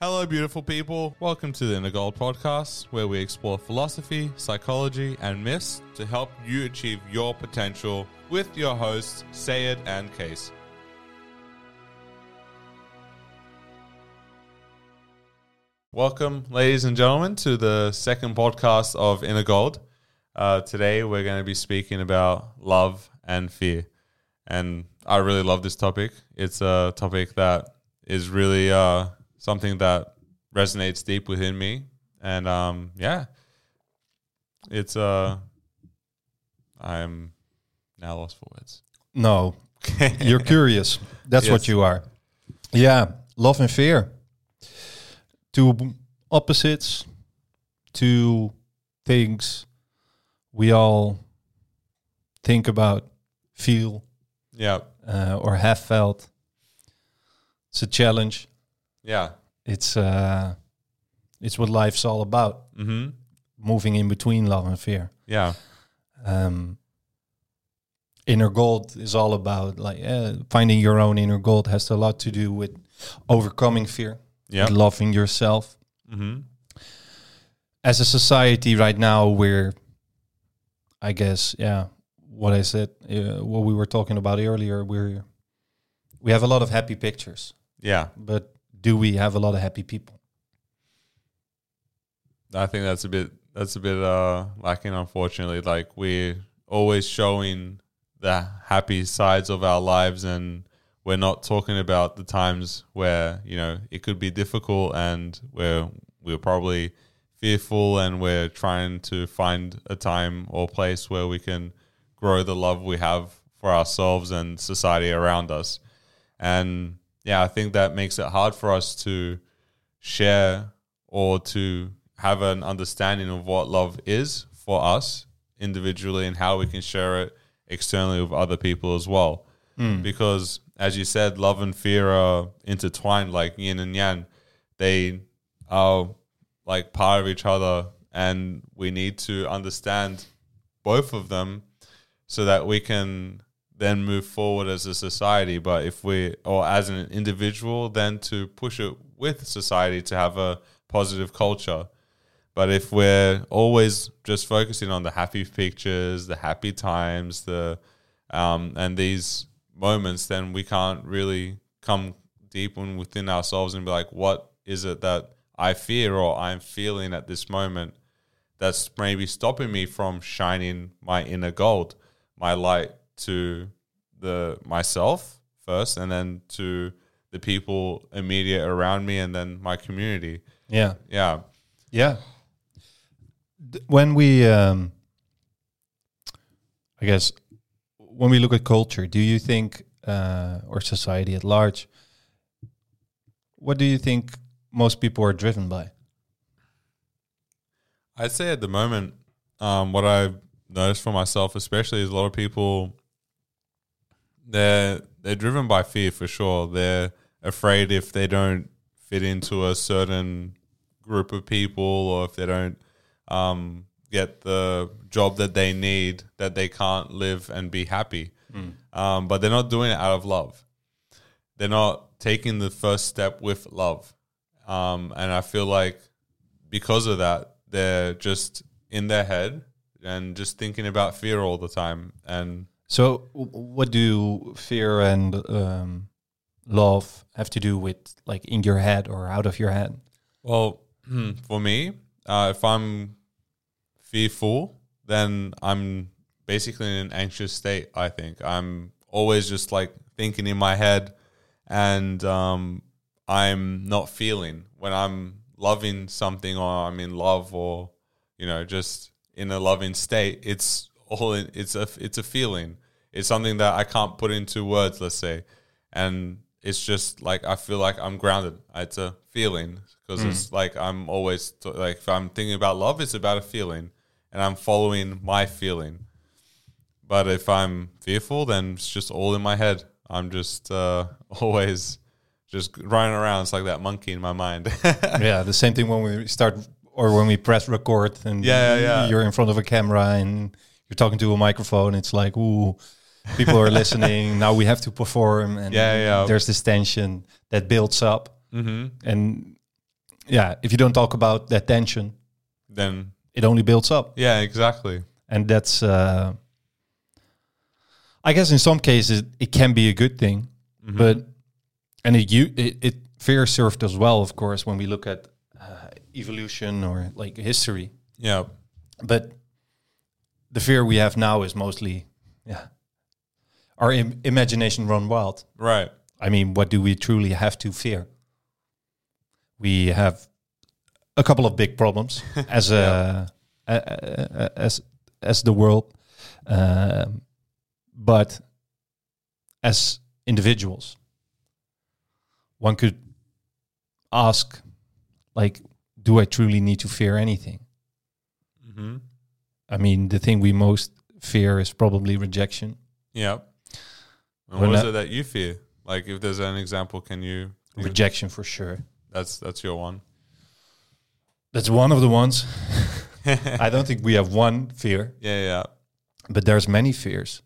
Hello, beautiful people. Welcome to the Inner Gold podcast, where we explore philosophy, psychology, and myths to help you achieve your potential with your hosts, Sayed and Case. Welcome, ladies and gentlemen, to the second podcast of Inner Gold. Today, we're going to be speaking about love and fear. And I really love this topic. It's a topic that is really something that resonates deep within me. And it's I'm now lost for words. No, you're curious. That's Yes. what you are. Yeah, love and fear. Two opposites, two things we all think about, feel, Yeah. or have felt. It's a challenge. Yeah. It's what life's all about. Mm-hmm. Moving in between love and fear. Yeah. Inner gold is all about finding your own inner gold. Has a lot to do with overcoming fear, Yeah. with loving yourself. Mm-hmm. As a society right now, we're, I guess, what I said, what we were talking about earlier, we have a lot of happy pictures, Yeah. but do we have a lot of happy people? I think that's a bit lacking, unfortunately. Like, we're always showing the happy sides of our lives, and we're not talking about the times where, you know, it could be difficult and where we're probably fearful, and we're trying to find a time or place where we can grow the love we have for ourselves and society around us. And yeah, I think that makes it hard for us to share or to have an understanding of what love is for us individually and how we can share it externally with other people as well. Because, as you said, love and fear are intertwined like yin and yang. They are like part of each other, and we need to understand both of them so that we can then move forward as a society. But or as an individual, then to push it with society to have a positive culture. But if we're always just focusing on the happy pictures, the happy times, and these moments, then we can't really come deep within ourselves and be like, what is it that I fear or I'm feeling at this moment that's maybe stopping me from shining my inner gold, my light to myself first, and then to the people immediate around me, and then my community. Yeah. Yeah. When we, I guess, when we look at culture, do you think, or society at large, what do you think most people are driven by? I'd say at the moment, what I've noticed for myself especially is a lot of people, they're driven by fear for sure. They're afraid if they don't fit into a certain group of people, or if they don't get the job that they need, that they can't live and be happy. But they're not doing it out of love. They're not taking the first step with love. And I feel like because of that, they're just in their head and just thinking about fear all the time. And So what do fear and love have to do with, like, in your head or out of your head? well, for me, if I'm fearful, then I'm basically in an anxious state, I think. I'm always just like thinking in my head, and I'm not feeling. When I'm loving something, or I'm in love, or, you know, just in a loving state, it's a feeling. It's something that I can't put into words, let's say. And it's just like, I feel like I'm grounded. It's a feeling, because it's like I'm always like, if I'm thinking about love, it's about a feeling, and I'm following my feeling. But if I'm fearful, then it's just all in my head. I'm just always just running around. It's like that monkey in my mind. Yeah, the same thing when we start, or when we press record and you're in front of a camera and you're talking to a microphone. It's like, ooh, people are listening. Now we have to perform, and there's this tension that builds up. Mm-hmm. And if you don't talk about that tension, then it only builds up. yeah, exactly. And that's, I guess in some cases it can be a good thing, but, and it fear served as well, of course, when we look at evolution or like history. Yeah. But the fear we have now is mostly, our imagination run wild. Right. I mean, what do we truly have to fear? We have a couple of big problems as as the world, but as individuals, one could ask, like, do I truly need to fear anything? I mean, the thing we most fear is probably rejection. Yeah. And Well, what is that- it that you fear? Like, if there's an example, can you? Rejection for sure. That's your one. That's one of the ones. I don't think we have one fear, Yeah. but there's many fears.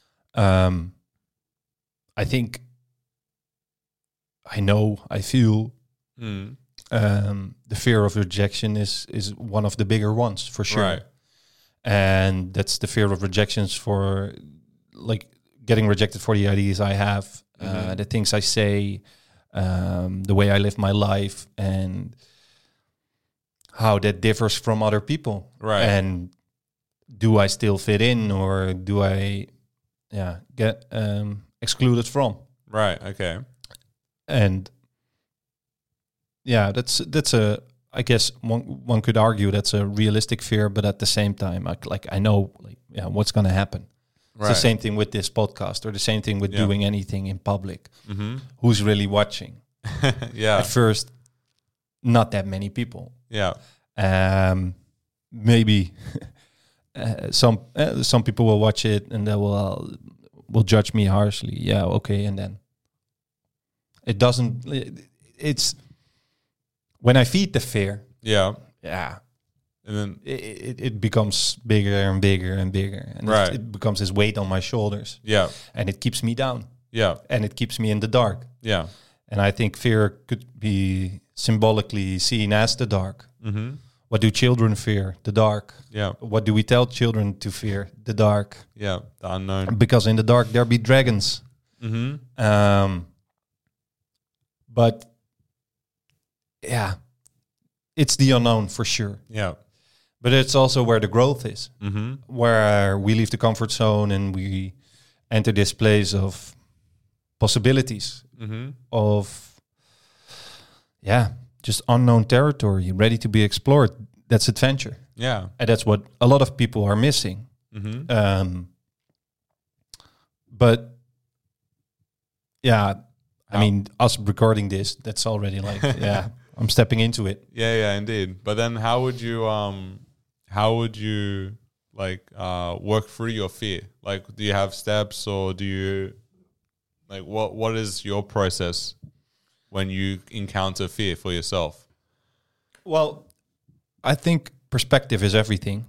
I think I feel Mm. the fear of rejection is one of the bigger ones for sure. Right. And that's the fear of rejections for like getting rejected for the ideas I have, the things I say, the way I live my life, and how that differs from other people. Right. And do I still fit in, or do I get excluded from? Right. Okay. And that's a, I guess one could argue that's a realistic fear, but at the same time, I know what's going to happen. It's Right. the same thing with this podcast, or the same thing with Yeah. doing anything in public. Mm-hmm. Who's really watching? Yeah. At first, not that many people. Yeah. Maybe some people will watch it and they will judge me harshly. Yeah, okay, and then it doesn't. It's when I feed the fear. Yeah. Yeah, And then it becomes bigger and bigger and bigger, and Right. it becomes this weight on my shoulders, yeah. and it keeps me down, Yeah. and it keeps me in the dark. Yeah. And I think fear could be symbolically seen as the dark. Mm-hmm. What do children fear? The dark. Yeah. What do we tell children to fear? The dark. Yeah. The unknown. Because in the dark there be dragons. Mm-hmm. But yeah, it's the unknown for sure. Yeah. But it's also where the growth is, Mm-hmm. where we leave the comfort zone and we enter this place of possibilities, Mm-hmm. of just unknown territory, ready to be explored. That's adventure, Yeah. and that's what a lot of people are missing. Mm-hmm. But I mean, us recording this, that's already like, I'm stepping into it. Yeah, indeed. But then how would you like work through your fear? Like, do you have steps, or do you like what is your process when you encounter fear for yourself? Well, I think perspective is everything.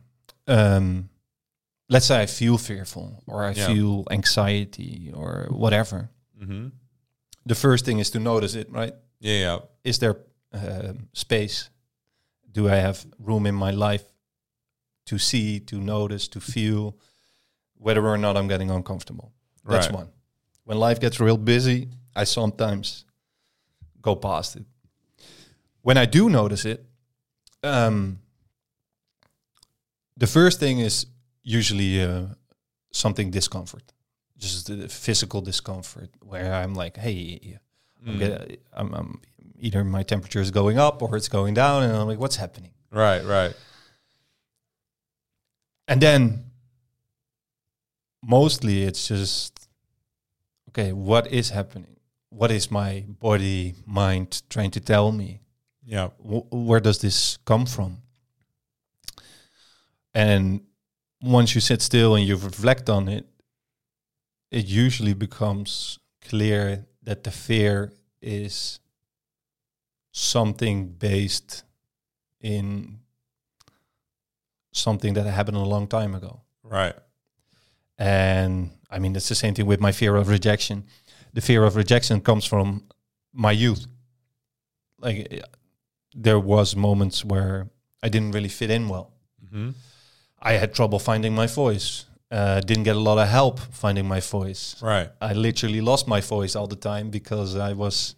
Let's say I feel fearful, or I feel anxiety, or whatever. Mm-hmm. The first thing is to notice it, right? Yeah. Is there space? Do I have room in my life to see, to notice, to feel whether or not I'm getting uncomfortable? That's Right. one. When life gets real busy, I sometimes go past it. When I do notice it, the first thing is usually something discomfort, just the physical discomfort, where I'm like, hey, I'm either my temperature is going up or it's going down, and I'm like, what's happening? Right. And then mostly it's just, okay, what is happening? What is my body, mind trying to tell me? Yeah. Where does this come from? And once you sit still and you reflect on it, it usually becomes clear that the fear is something based in something that happened a long time ago. Right. And I mean, it's the same thing with my fear of rejection. The fear of rejection comes from my youth. Like, there was moments where I didn't really fit in well. Mm-hmm. I had trouble finding my voice. Didn't get a lot of help finding my voice. Right. I literally lost my voice all the time because I was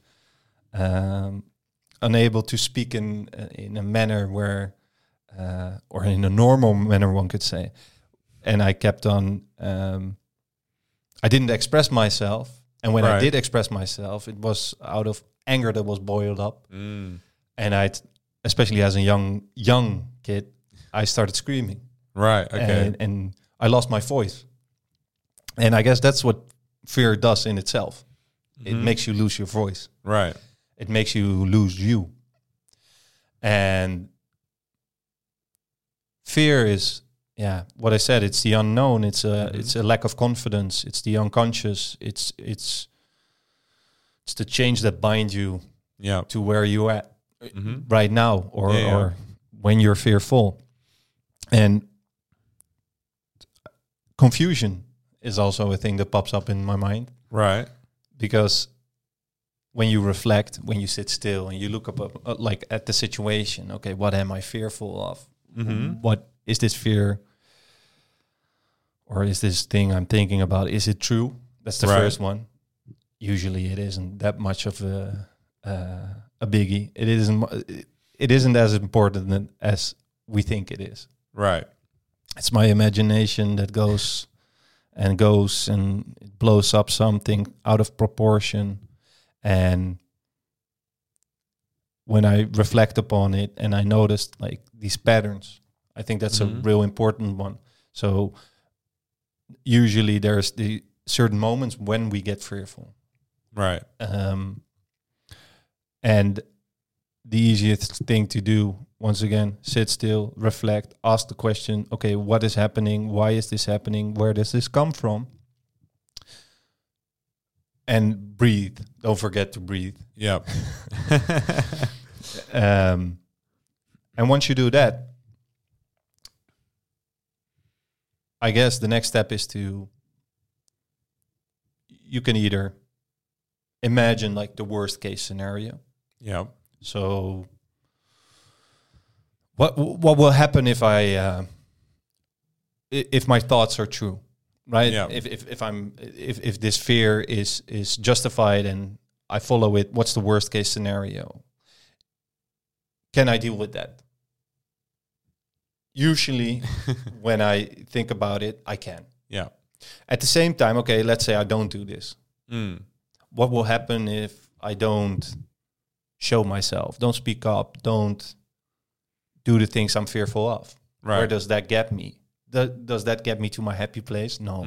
unable to speak in a manner where, or in a normal manner, one could say. And I kept on. I didn't express myself, and when I did express myself, it was out of anger that was boiled up. And I, especially as a young kid, I started screaming. Right. Okay. And I lost my voice. And I guess that's what fear does in itself. It makes you lose your voice. Right. It makes you lose you. And fear is, what I said, it's the unknown. It's a lack of confidence. It's the unconscious. It's the change that binds you to where you're at right now or when you're fearful. And confusion is also a thing that pops up in my mind. Right. Because when you reflect, when you sit still and you look up like at the situation, okay, what am I fearful of? What is this fear? Or is this thing I'm thinking about, is it true? That's the first one. Usually it isn't that much of a biggie. It isn't as important as we think it is. Right. It's my imagination that goes and it blows up something out of proportion. And when I reflect upon it and I noticed like these patterns, I think that's a real important one. So usually there's the certain moments when we get fearful. Right. And the easiest thing to do, once again, sit still, reflect, ask the question, okay, what is happening? Why is this happening? Where does this come from? And breathe. Don't forget to breathe. Yep. And once you do that, I guess the next step is you can either imagine like the worst case scenario. Yeah. So what will happen if if my thoughts are true, right? Yeah. If this fear is justified and I follow it, what's the worst case scenario? Can I deal with that? Usually when I think about it, I can. Yeah. At the same time, okay, let's say I don't do this. What will happen if I don't show myself, don't speak up, don't do the things I'm fearful of? Right. Where does that get me? Does that get me to my happy place? No.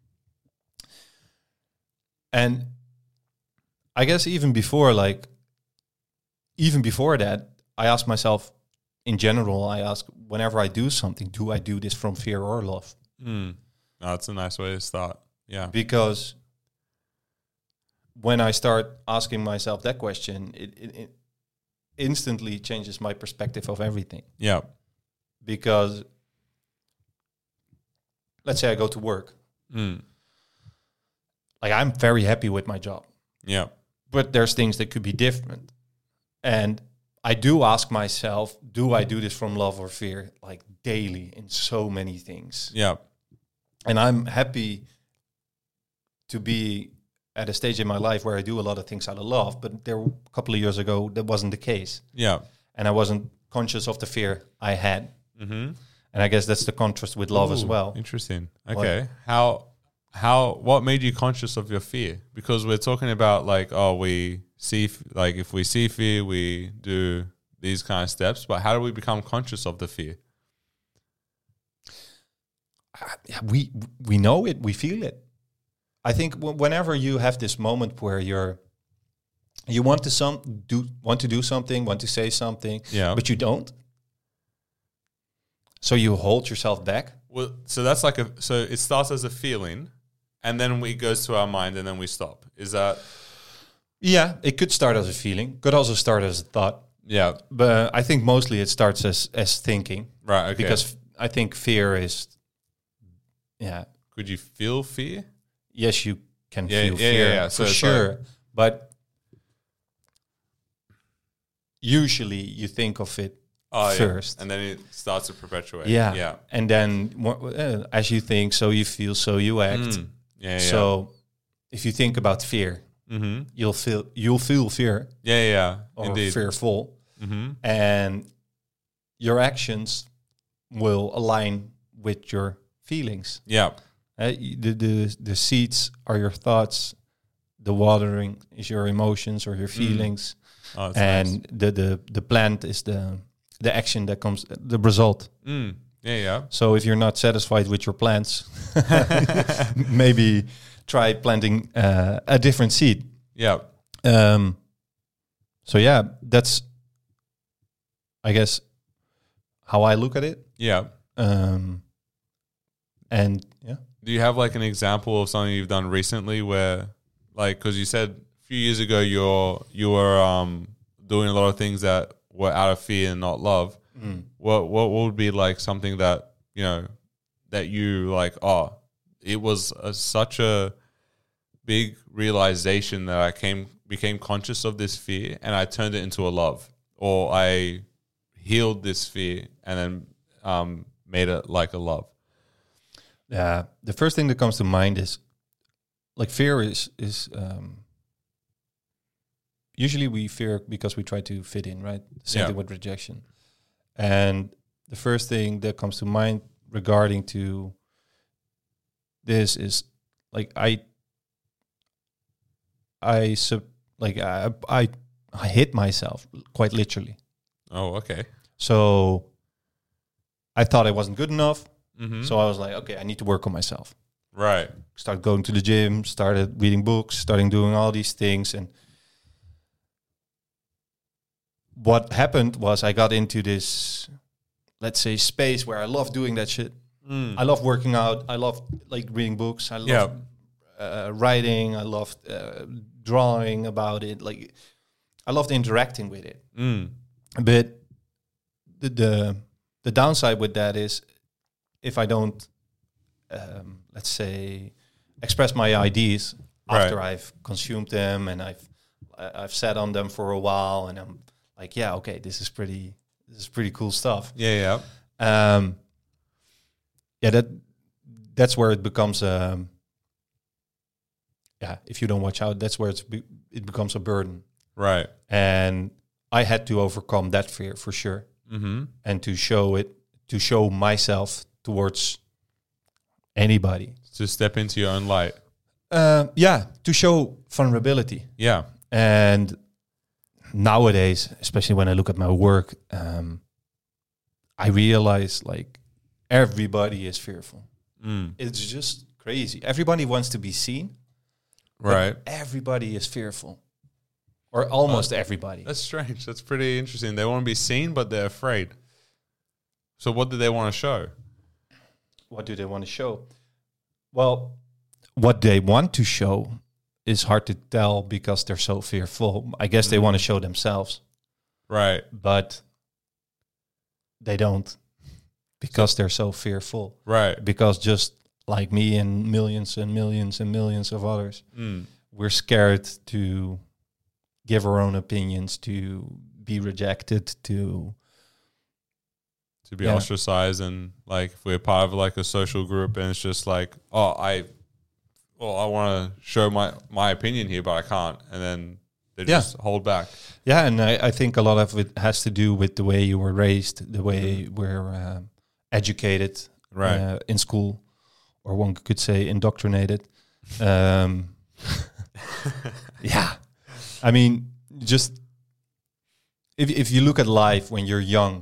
And I guess even before that, I ask myself, in general, I ask, whenever I do something, do I do this from fear or love? Oh, that's a nice way to start. Yeah. Because when I start asking myself that question, it instantly changes my perspective of everything. Yeah. Because let's say I go to work. Like I'm very happy with my job. Yeah. But there's things that could be different. And I do ask myself, do I do this from love or fear? Like daily in so many things. Yeah. And I'm happy to be at a stage in my life where I do a lot of things out of love. But there a couple of years ago, that wasn't the case. Yeah. And I wasn't conscious of the fear I had. And I guess that's the contrast with love as well. Interesting. Okay. What made you conscious of your fear? Because we're talking about like, we see, like if we see fear, we do these kind of steps, but how do we become conscious of the fear? We know it, we feel it. I think whenever you have this moment where you want to do something, want to say something, but you don't. So you hold yourself back. Well, so that's like so it starts as a feeling and then it goes to our mind and then we stop. Is that? Yeah, it could start as a feeling, could also start as a thought. Yeah. But I think mostly it starts as thinking. Right, okay. Because I think fear is, Could you feel fear? Yes, you can feel fear, for sure. But usually you think of it first. And then it starts to perpetuate. Yeah. And then as you think, so you feel, so you act. So if you think about fear, you'll feel fear. Or indeed. Fearful. And your actions will align with your feelings. The seeds are your thoughts. The watering is your emotions or your feelings. And nice. the plant is the action that comes, the result. So if you're not satisfied with your plants, maybe try planting a different seed. So that's, I guess, how I look at it. And do you have like an example of something you've done recently where, like, because you said a few years ago you were doing a lot of things that were out of fear and not love. What would be like something that, you know, that you like, it was such a big realization that I became conscious of this fear and I turned it into a love, or I healed this fear and then made it like a love? The first thing that comes to mind is, like, fear is usually we fear because we try to fit in, right? Same thing with rejection. And the first thing that comes to mind regarding to this is, like, I hit myself quite literally. Oh, okay. So I thought I wasn't good enough. So I was like, okay, I need to work on myself. Right. Start going to the gym, started reading books, starting doing all these things. And what happened was I got into this, let's say, space where I love doing that shit. I love working out. I love, like, reading books. I love writing. I love drawing about it. Like, I loved interacting with it. But the downside with that is, if I don't, let's say, express my ideas after I've consumed them and I've sat on them for a while, and I'm like, okay, this is pretty cool stuff. That's where it becomes if you don't watch out, that's where it becomes a burden. Right. And I had to overcome that fear for sure. And to show myself towards anybody. To step into your own light. To show vulnerability. And nowadays, especially when I look at my work, I realize, like, everybody is fearful. It's just crazy. Everybody wants to be seen. Right. Everybody is fearful. Or almost everybody. That's strange. That's pretty interesting. They want to be seen, but they're afraid. So what do they want to show? What do they want to show? Well, what they want to show is hard to tell because they're so fearful. I guess they want to show themselves. Right. But they don't, because they're so fearful. Right. Because just like me and millions and millions and millions of others, we're scared to give our own opinions, to be rejected, to be ostracized. And, like, if we're part of, like, a social group and it's just like, I want to show my opinion here, but I can't. And then they just hold back. Yeah, and I think a lot of it has to do with the way you were raised, the way we're educated in school, or one could say indoctrinated. I mean, just if you look at life when you're young,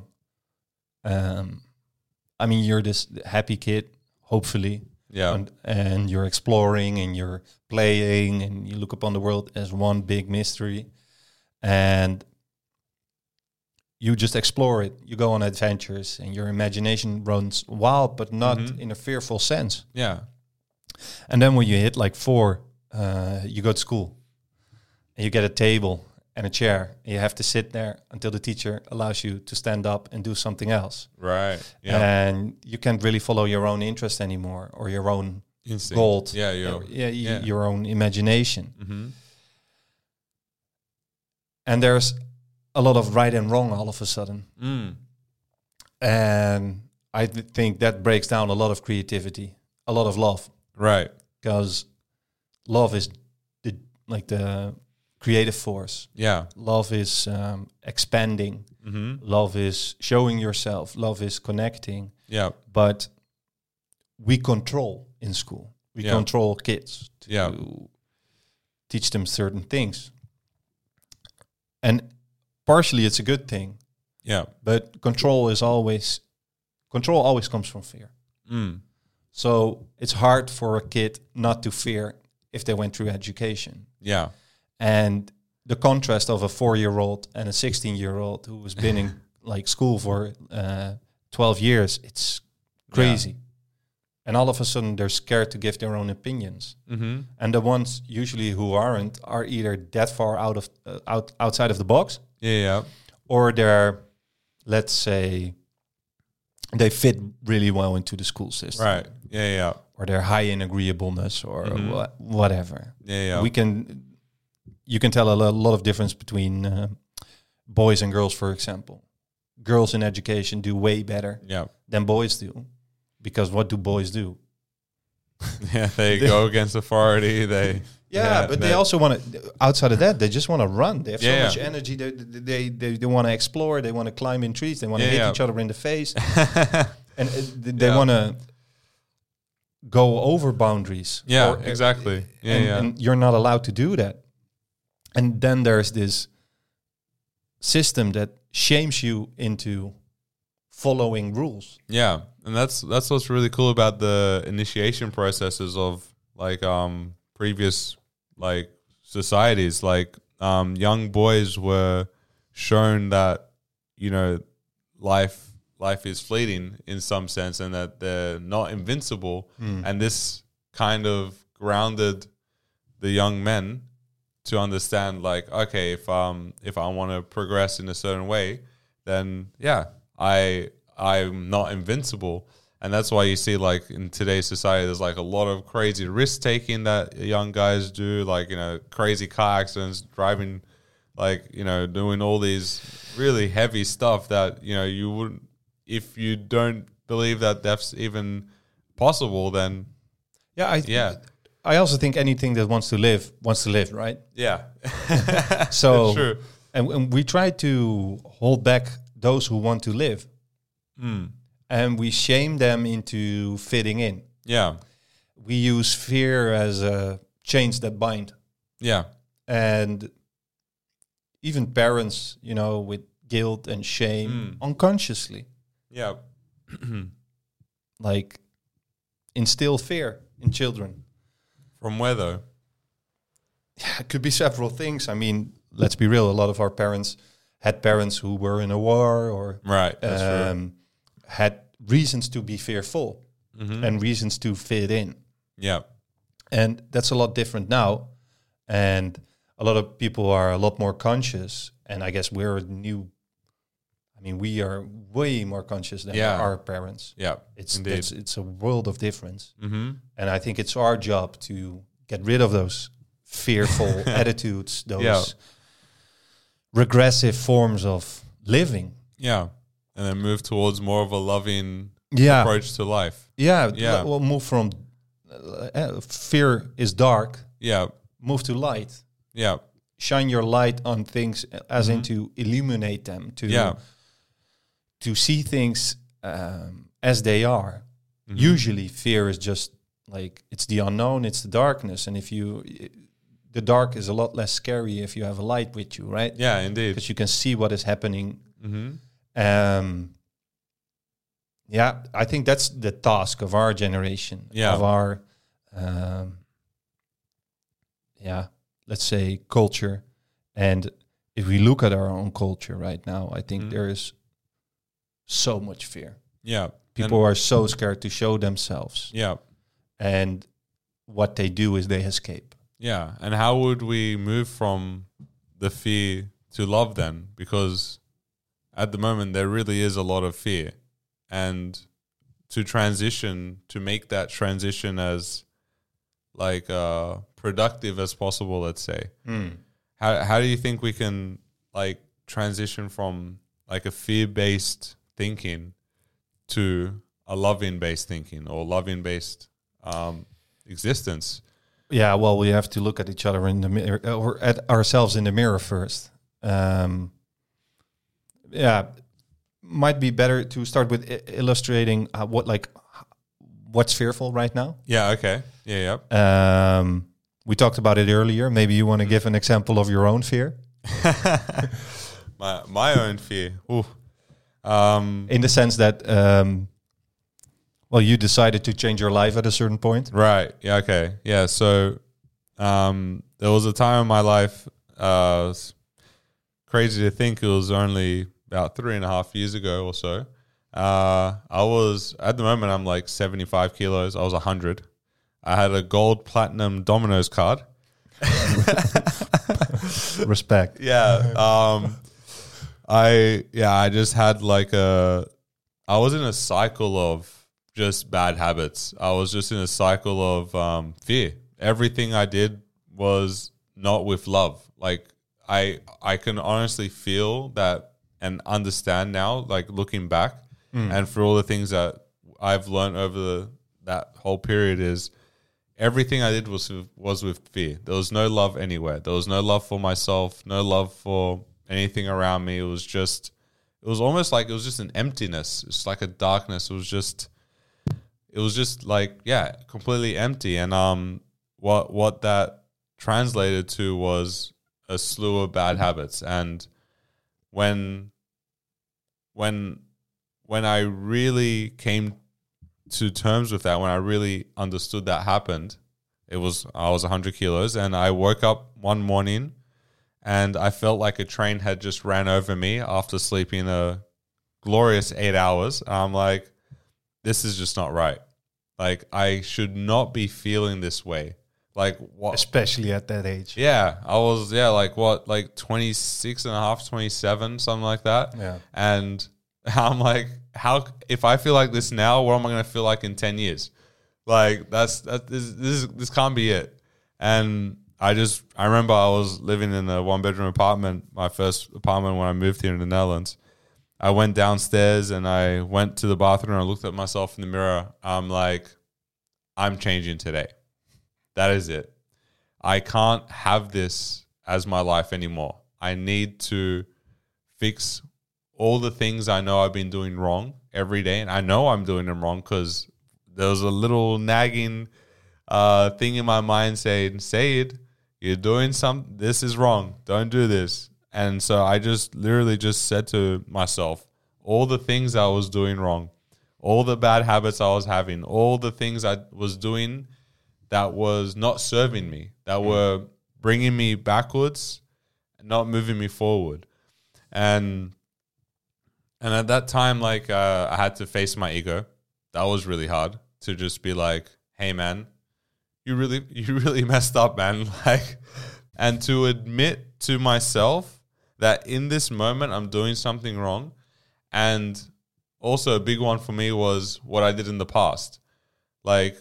I mean, you're this happy kid, hopefully. And you're exploring and you're playing and you look upon the world as one big mystery. And you just explore it. You go on adventures and your imagination runs wild, but not in a fearful sense. And then when you hit like 4, you go to school and you get a table and a chair. And you have to sit there until the teacher allows you to stand up and do something else. Right. And you can't really follow your own interest anymore, or your own instinct. Goal. Your own imagination. And there's a lot of right and wrong all of a sudden. And I think that breaks down a lot of creativity, a lot of love. Right. Because love is the creative force. Yeah. Love is expanding. Love is showing yourself. Love is connecting. Yeah. But we control in school. We control kids to teach them certain things. And partially it's a good thing. Yeah. But control always comes from fear. So it's hard for a kid not to fear if they went through education. Yeah. And the contrast of a 4-year-old and a 16-year-old who has been in like school for 12 years, it's crazy. Yeah. And all of a sudden they're scared to give their own opinions. And the ones usually who aren't are either that far outside of the box. Yeah. Or they're, let's say, they fit really well into the school system. Right. Yeah. Or they're high in agreeableness or whatever. Yeah. You can tell a lot of difference between boys and girls, for example. Girls in education do way better than boys do. Because what do boys do? Yeah, they go against authority. But they also want to, outside of that, they just want to run. They have so much energy. They want to explore. They want to climb in trees. They want to hit each other in the face. And they want to go over boundaries. Yeah, exactly. And you're not allowed to do that. And then there's this system that shames you into following rules. Yeah, and that's what's really cool about the initiation processes of like previous like societies. Like young boys were shown that, you know, life is fleeting in some sense, and that they're not invincible. And this kind of grounded the young men to understand, like, okay, if I want to progress in a certain way, then I'm not invincible. And that's why you see, like, in today's society, there's like a lot of crazy risk taking that young guys do, like, you know, crazy car accidents, driving, like, you know, doing all these really heavy stuff that, you know, you wouldn't, if you don't believe that death's even possible, then I also think anything that wants to live, right? Yeah. So, that's true. And we try to hold back those who want to live. And we shame them into fitting in. Yeah. We use fear as a chains that bind. Yeah. And even parents, you know, with guilt and shame unconsciously. Yeah. Like instill fear in children. From where though? Yeah, it could be several things. I mean, let's be real. A lot of our parents had parents who were in a war or that's true. Had reasons to be fearful and reasons to fit in. Yeah. And that's a lot different now. And a lot of people are a lot more conscious. And I guess we are way more conscious than our parents. Yeah, it's a world of difference. And I think it's our job to get rid of those fearful attitudes, those regressive forms of living. Yeah. And then move towards more of a loving approach to life. Yeah. We'll move from fear is dark. Yeah. Move to light. Yeah. Shine your light on things as in to illuminate them, to see things as they are. Usually fear is just like, it's the unknown, it's the darkness. And the dark is a lot less scary if you have a light with you, right? Yeah, indeed. Because you can see what is happening. I think that's the task of our generation, of our, let's say, culture. And if we look at our own culture right now, I think there is so much fear. Yeah. People are so scared to show themselves. Yeah. And what they do is they escape. Yeah. And how would we move from the fear to love then? Because at the moment, there really is a lot of fear. And to make that transition as like productive as possible, let's say. How do you think we can like transition from like a fear-based thinking to a loving-based thinking or loving-based existence? Yeah, well, we have to look at each other in the mirror, or at ourselves in the mirror first. Yeah, might be better to start with illustrating what's fearful right now. Yeah. Okay. Yeah. We talked about it earlier. Maybe you want to give an example of your own fear. my own fear. Ooh. In the sense that, well, you decided to change your life at a certain point. Right. Yeah. Okay. Yeah. So there was a time in my life, it's crazy to think it was only about 3.5 years ago or so. I was, at the moment, I'm like 75 kilos. I was 100. I had a gold platinum Domino's card. Respect. Yeah. I just had I was in a cycle of just bad habits. I was just in a cycle of fear. Everything I did was not with love. Like I can honestly feel that and understand now, like looking back, and for all the things that I've learned over that whole period is everything I did was with fear. There was no love anywhere. There was no love for myself, no love for anything around me. It was almost like it was just an emptiness. It's like a darkness. It was just like, yeah, completely empty. And what that translated to was a slew of bad habits. And when I really came to terms with that, when I really understood that happened, I was 100 kilos, and I woke up one morning and I felt like a train had just ran over me after sleeping a glorious 8 hours. I'm like, this is just not right. Like, I should not be feeling this way. Like, what? Especially at that age. Yeah. I was, like 26 and a half, 27, something like that. Yeah. And I'm like, if I feel like this now, what am I going to feel like in 10 years? Like, this can't be it. And I remember I was living in a 1-bedroom apartment, my first apartment when I moved here in the Netherlands. I went downstairs and I went to the bathroom and I looked at myself in the mirror. I'm like, I'm changing today. That is it. I can't have this as my life anymore. I need to fix all the things I know I've been doing wrong every day. And I know I'm doing them wrong because there was a little nagging thing in my mind saying, Saeed, you're doing this is wrong. Don't do this. And so I just literally just said to myself, all the things I was doing wrong, all the bad habits I was having, all the things I was doing that was not serving me, that were bringing me backwards and not moving me forward. And at that time, like, I had to face my ego. That was really hard to just be like, hey man, you really messed up, man. Like, and to admit to myself that in this moment I'm doing something wrong. And also a big one for me was what I did in the past. Like,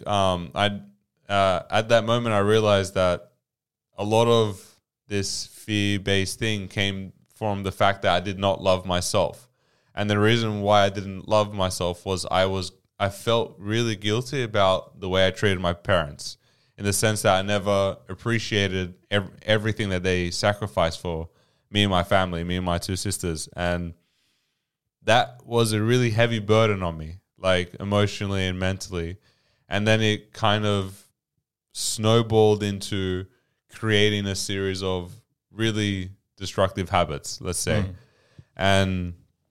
at that moment I realized that a lot of this fear-based thing came from the fact that I did not love myself. And the reason why I didn't love myself was I felt really guilty about the way I treated my parents, in the sense that I never appreciated everything that they sacrificed for me and my family, me and my 2 sisters. And that was a really heavy burden on me, like emotionally and mentally. And then it kind of snowballed into creating a series of really destructive habits, let's say. And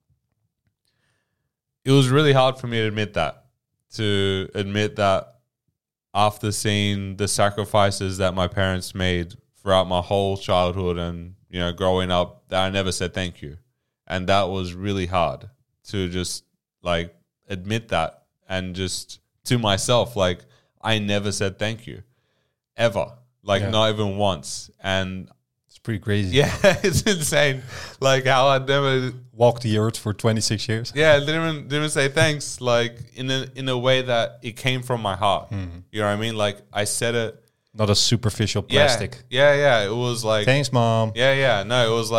it was really hard for me to admit that after seeing the sacrifices that my parents made throughout my whole childhood and, growing up, that I never said thank you. And that was really hard to just like admit that, and just to myself, like, I never said thank you ever, not even once. And it's pretty crazy. Yeah, it's insane. Like how I never walked the earth for 26 years. Yeah, didn't even say thanks, like in a way that it came from my heart. You know what I mean? Like I said it, not a superficial plastic. Yeah. It was like, thanks, mom. Yeah. No, it was like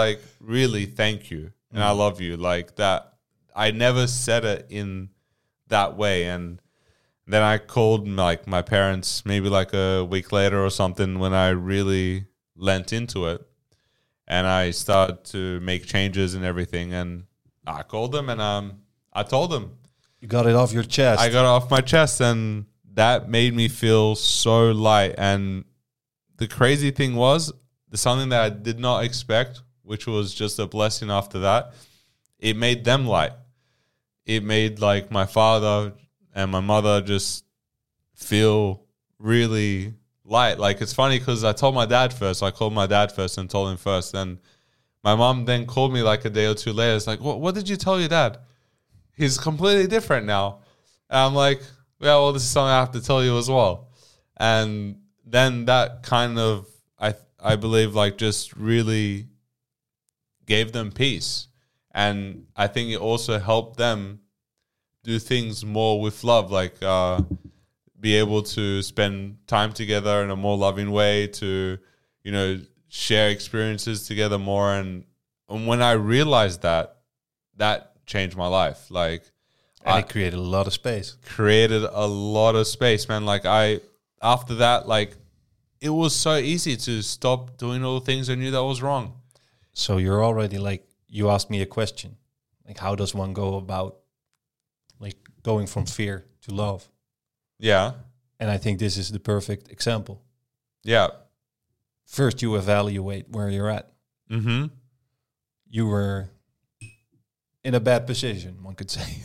really thank you and I love you. Like that, I never said it in that way. And then I called like my parents maybe like a week later or something when I really lent into it. And I started to make changes and everything. And I called them and I told them. You got it off your chest. I got it off my chest, and that made me feel so light. And the crazy thing was, something that I did not expect, which was just a blessing after that, it made them light. It made like my father and my mother just feel really light. Like it's funny because I told my dad first. I called my dad first and told him first. And my mom then called me like a day or two later. It's like, what did you tell your dad? He's completely different now. And I'm like, yeah, well, this is something I have to tell you as well. And then that kind of, I believe, like just really gave them peace. And I think it also helped them do things more with love, like be able to spend time together in a more loving way, to, you know, share experiences together more. And when I realized that changed my life. Like, and it created a lot of space. Created a lot of space, man. Like after that, like it was so easy to stop doing all the things I knew that was wrong. So you're already like, you asked me a question, like how does one go about like going from fear to love? Yeah. And I think this is the perfect example. Yeah. First, you evaluate where you're at. Mm-hmm. You were in a bad position, one could say.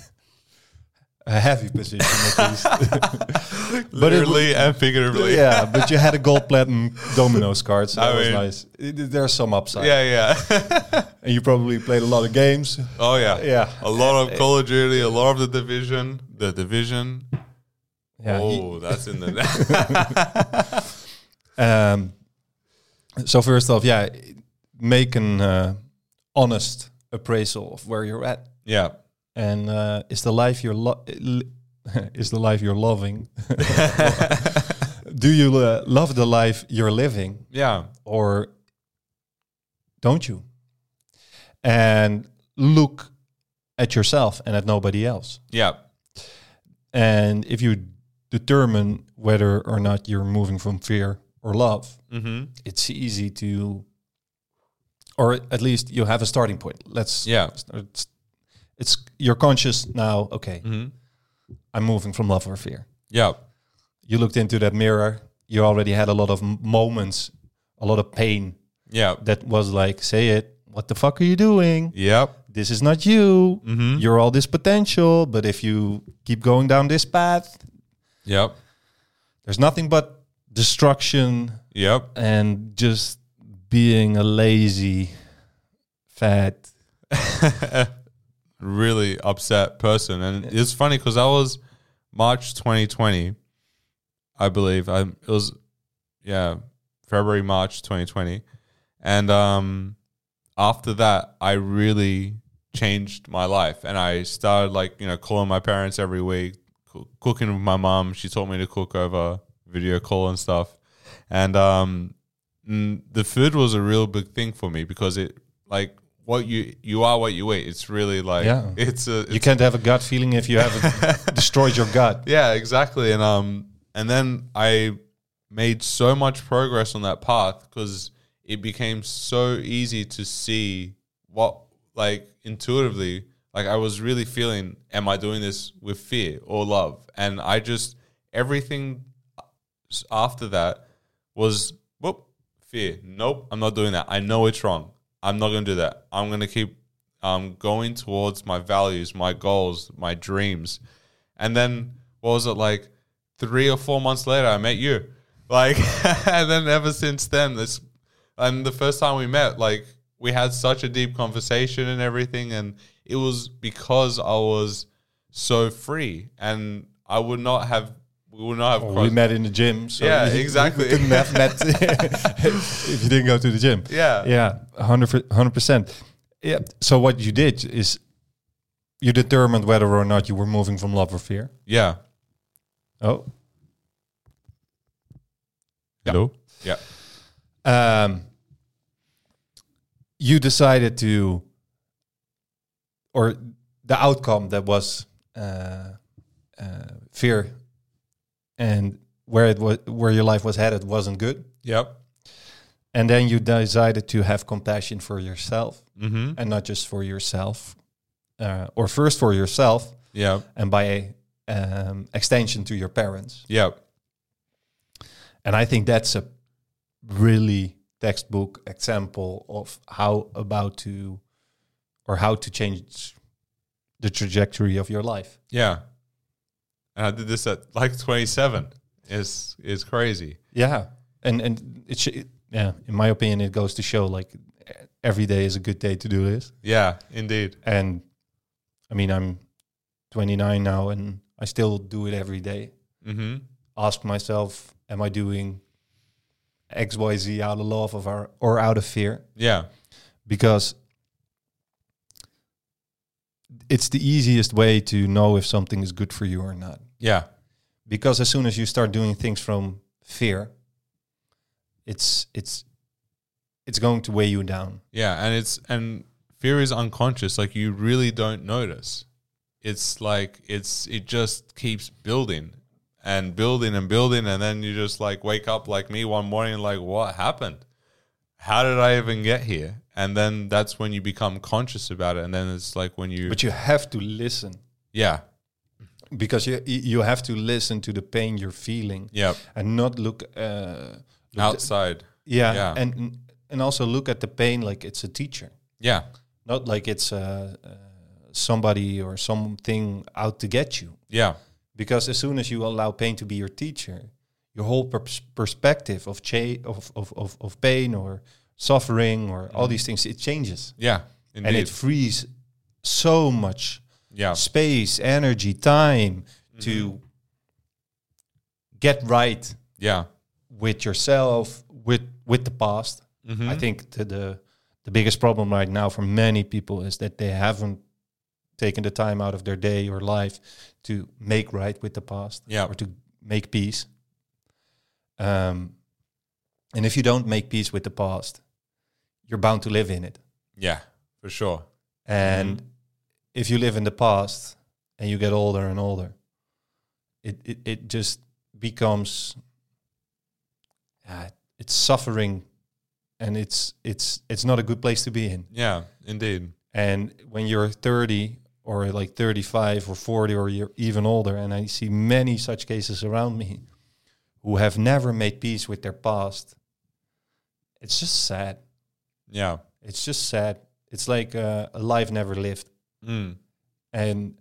A heavy position, at least. Literally and figuratively. Yeah, but you had a gold platinum Domino's card, so that was mean, nice. There's some upside. Yeah. And you probably played a lot of games. Oh, yeah. Yeah. A lot of Call of Duty, a lot of The Division. Yeah, that's in the... So first off, yeah, make an honest appraisal of where you're at. Yeah. And is the life you're is the life you're loving? Do you love the life you're living? Yeah. Or don't you? And look at yourself and at nobody else. Yeah. And if you determine whether or not you're moving from fear or love, it's easy to, or at least you have a starting point. It's you're conscious now. Okay, I'm moving from love or fear. Yeah. You looked into that mirror. You already had a lot of moments, a lot of pain. Yeah. That was like, say it. What the fuck are you doing? Yep. This is not you. You're all this potential, but if you keep going down this path, yep, there's nothing but destruction. Yep. And just being a lazy, fat, really upset person. And it's funny because I was March 2020, I believe. It was February, March 2020. And after that, I really changed my life. And I started calling my parents every week, cooking with my mom. She taught me to cook over video call and stuff. And the food was a real big thing for me because it what you are what you eat. It's really you can't have a gut feeling if you haven't destroyed your gut. Yeah, exactly. And then I made so much progress on that path because it became so easy to see what, intuitively, I was really feeling, am I doing this with fear or love? And I just, everything after that was, fear. Nope, I'm not doing that. I know it's wrong. I'm not going to do that. I'm going to keep going towards my values, my goals, my dreams. And then, 3 or 4 months later, I met you. And then ever since then, and the first time we met, we had such a deep conversation and everything. And it was because I was so free. And we would not have we met in the gym. So yeah, exactly. We couldn't have met if you didn't go to the gym. Yeah. Yeah, 100%. Yeah. So what you did is you determined whether or not you were moving from love or fear. Yeah. Oh. Hello? Yeah. you decided to, or the outcome that was fear, and where your life was headed wasn't good. Yep. And then you decided to have compassion for yourself, Mm-hmm. and not just for yourself, or first for yourself, Yep. and by extension to your parents. Yep. And I think that's a really textbook example of how to change the trajectory of your life. Yeah. And I did this at like 27. Is crazy. Yeah, and in my opinion, it goes to show like every day is a good day to do this. Yeah, indeed. And I mean, I'm 29 now, and I still do it every day. Mm-hmm. Ask myself, am I doing X, Y, Z out of love or out of fear? Yeah. Because it's the easiest way to know if something is good for you or not. Yeah. Because as soon as you start doing things from fear, it's going to weigh you down. Yeah, and fear is unconscious. Like, you really don't notice. It's like it just keeps building and building and building, and then you just like wake up like me one morning, like, what happened? How did I even get here? And then that's when you become conscious about it, and then it's like when you. But you have to listen. Yeah. Because you have to listen to the pain you're feeling. Yep. And not look Outside. Yeah. And also look at the pain like it's a teacher. Yeah. Not like it's somebody or something out to get you. Yeah. Because as soon as you allow pain to be your teacher, your whole perspective of of pain or suffering or all these things, it changes. Yeah. Indeed. And it frees so much space, energy, time to get right with yourself, with the past. I think the biggest problem right now for many people is that they haven't taken the time out of their day or life to make right with the past or to make peace. And if you don't make peace with the past, you're bound to live in it. Yeah, for sure. And if you live in the past and you get older and older, it just becomes it's suffering, and it's not a good place to be in. Yeah, indeed. And when you're 30 or like 35 or 40 or you're even older, and I see many such cases around me who have never made peace with their past, it's just sad. Yeah. It's just sad. It's like a life never lived. And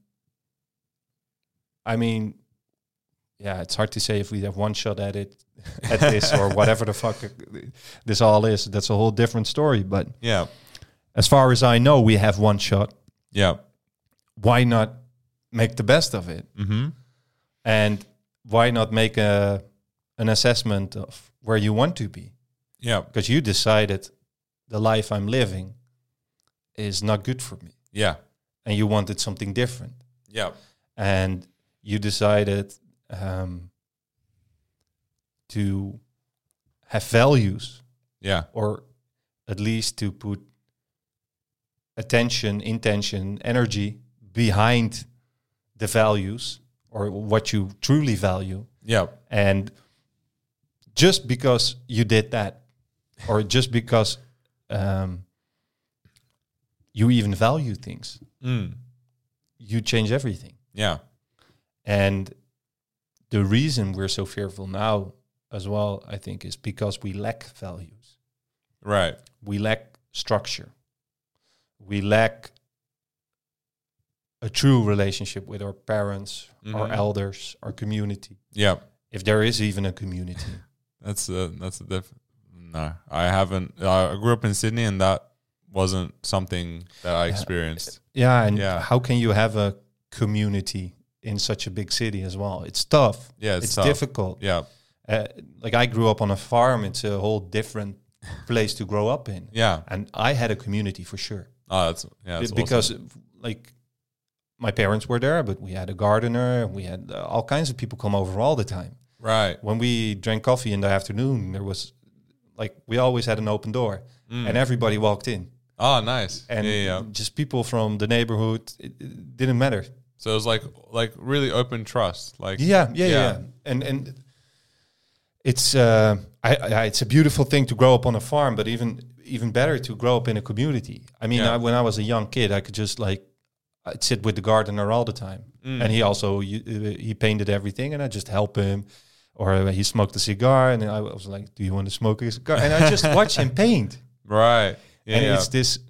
I mean, it's hard to say if we have one shot at it, at this or whatever the fuck this all is. That's a whole different story. But as far as I know, we have one shot. Yeah. Why not make the best of it? And why not make an assessment of where you want to be? Yeah. Because you decided the life I'm living is not good for me. Yeah. And you wanted something different. Yeah. And you decided to have values. Yeah. Or at least to put attention, intention, energy behind the values or what you truly value. Yeah. And just because you did that, or just because you even value things, you change everything. Yeah. And the reason we're so fearful now as well, I think, is because we lack values. Right. We lack structure. We lack a true relationship with our parents, our elders, our community. Yeah. If there is even a community. That's a no, I haven't. I grew up in Sydney, and that wasn't something that I experienced. How can you have a community in such a big city as well? It's tough. Yeah, it's tough. difficult. Yeah. Like I grew up on a farm. It's a whole different place to grow up in. Yeah. And I had a community for sure. Oh, that's because awesome. Like my parents were there, but we had a gardener. We had all kinds of people come over all the time. Right. When we drank coffee in the afternoon, there was like we always had an open door, and everybody walked in. Oh, nice. and Yeah. just people from the neighborhood. It didn't matter. So it was like really open trust. Like Yeah. And it's it's a beautiful thing to grow up on a farm, but even better to grow up in a community. I mean, Yeah. when I was a young kid, I could just I'd sit with the gardener all the time, and he also he painted everything, and I just help him. Or he smoked a cigar, and I was like, "Do you want to smoke a cigar?" And I just watch him paint. Right. Yeah. And it's this.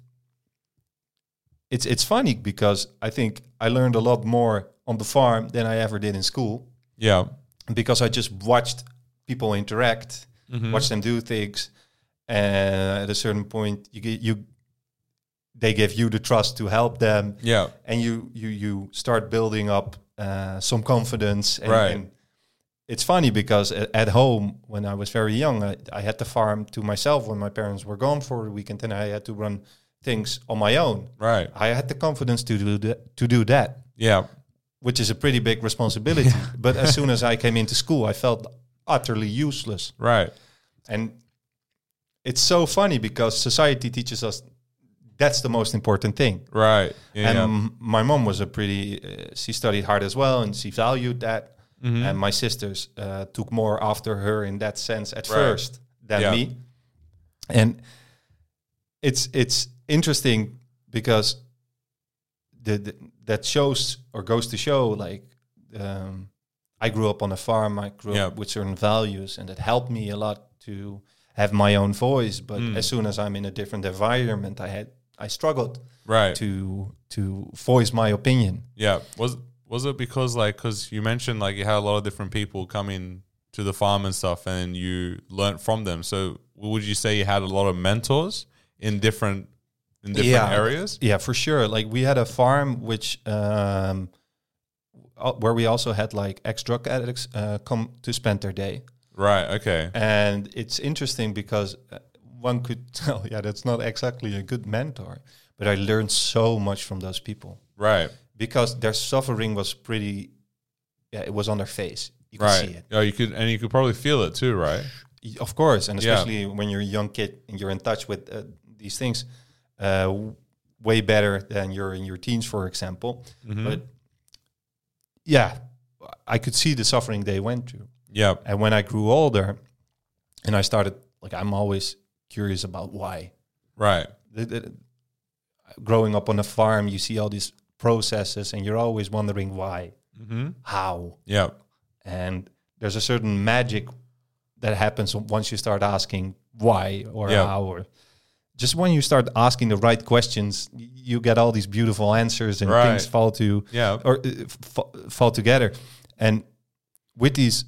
It's funny because I think I learned a lot more on the farm than I ever did in school, yeah. because I just watched people interact, Mhm. watch them do things, and at a certain point, they give you the trust to help them, Yeah. and you start building up some confidence. And, Right. and it's funny because at home, when I was very young, I had the farm to myself when my parents were gone for the weekend, and I had to run things on my own. Right. I had the confidence to do that, Yeah. which is a pretty big responsibility. But as soon as I came into school, I felt utterly useless. Right. And it's so funny because society teaches us that's the most important thing. Right. Yeah. And yeah. my mom was she studied hard as well, and she valued that. Mhm. And my sisters took more after her in that sense at Right. first than Yeah. me. And it's interesting because that shows or goes to show I grew up on a farm. I grew Yeah. up with certain values, and it helped me a lot to have my own voice. But Mm. as soon as I'm in a different environment, I struggled Right. to voice my opinion. Yeah. Was it because you mentioned you had a lot of different people coming to the farm and stuff, and you learnt from them. So would you say you had a lot of mentors in different areas? Yeah, for sure. We had a farm where we also had ex-drug addicts come to spend their day. Right. Okay. And it's interesting because one could tell, that's not exactly a good mentor, but I learned so much from those people Right. because their suffering was pretty, it was on their face. You could see Right. it. Oh, you could probably feel it too, right? Of course, and Yeah. especially when you're a young kid and you're in touch with these things way better than you're in your teens, for example. Mhm. But yeah, I could see the suffering they went through. Yeah. And when I grew older and I started, I'm always curious about why. Right. Growing up on a farm, you see all these processes and you're always wondering why, Mm-hmm. how. Yeah. And there's a certain magic that happens once you start asking why or Yeah. how, or just when you start asking the right questions, you get all these beautiful answers and Right. things fall together. And with these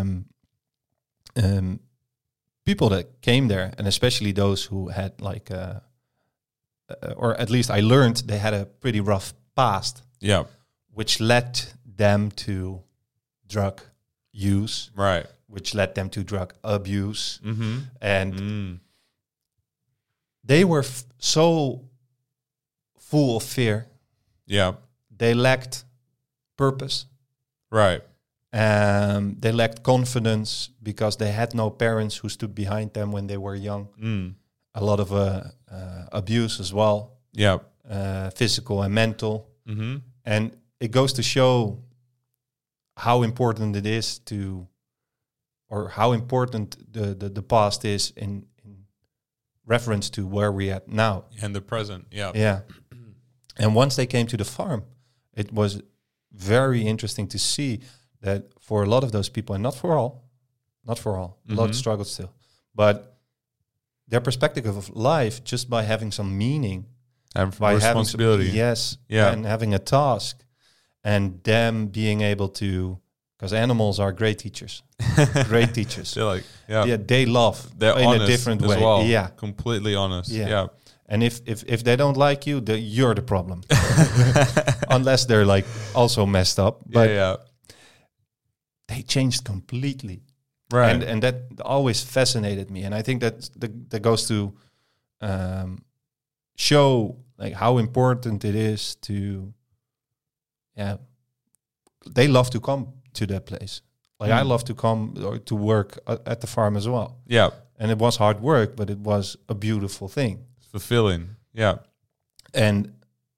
people that came there, and especially those who had or at least I learned they had a pretty rough past, Yeah. which led them to drug use, Right. which led them to drug abuse. Mm-hmm. And they were so full of fear. Yeah. They lacked purpose. Right. They lacked confidence because they had no parents who stood behind them when they were young. Mm. A lot of abuse as well, Yeah. physical and mental. Mm-hmm. And it goes to show how important it is to, or how important the past is in reference to where we're at now. And the present. Yeah. Yeah. And once they came to the farm, it was very interesting to see that for a lot of those people, and not for all, a lot of struggles still, but their perspective of life, just by having some meaning, And by responsibility. Yeah. and having a task, and them being able to, because animals are great teachers, great teachers. They're Yeah, they love They're in honest a different as way. well. Yeah, Completely honest. Yeah. Yeah. and if they don't like you, you're the problem, unless they're also messed up. But yeah. they changed completely. Right. And that always fascinated me. And I think that goes to show how important it is to, they love to come to that place. I love to come or to work at the farm as well. Yeah. And it was hard work, but it was a beautiful thing. Fulfilling. Yeah. And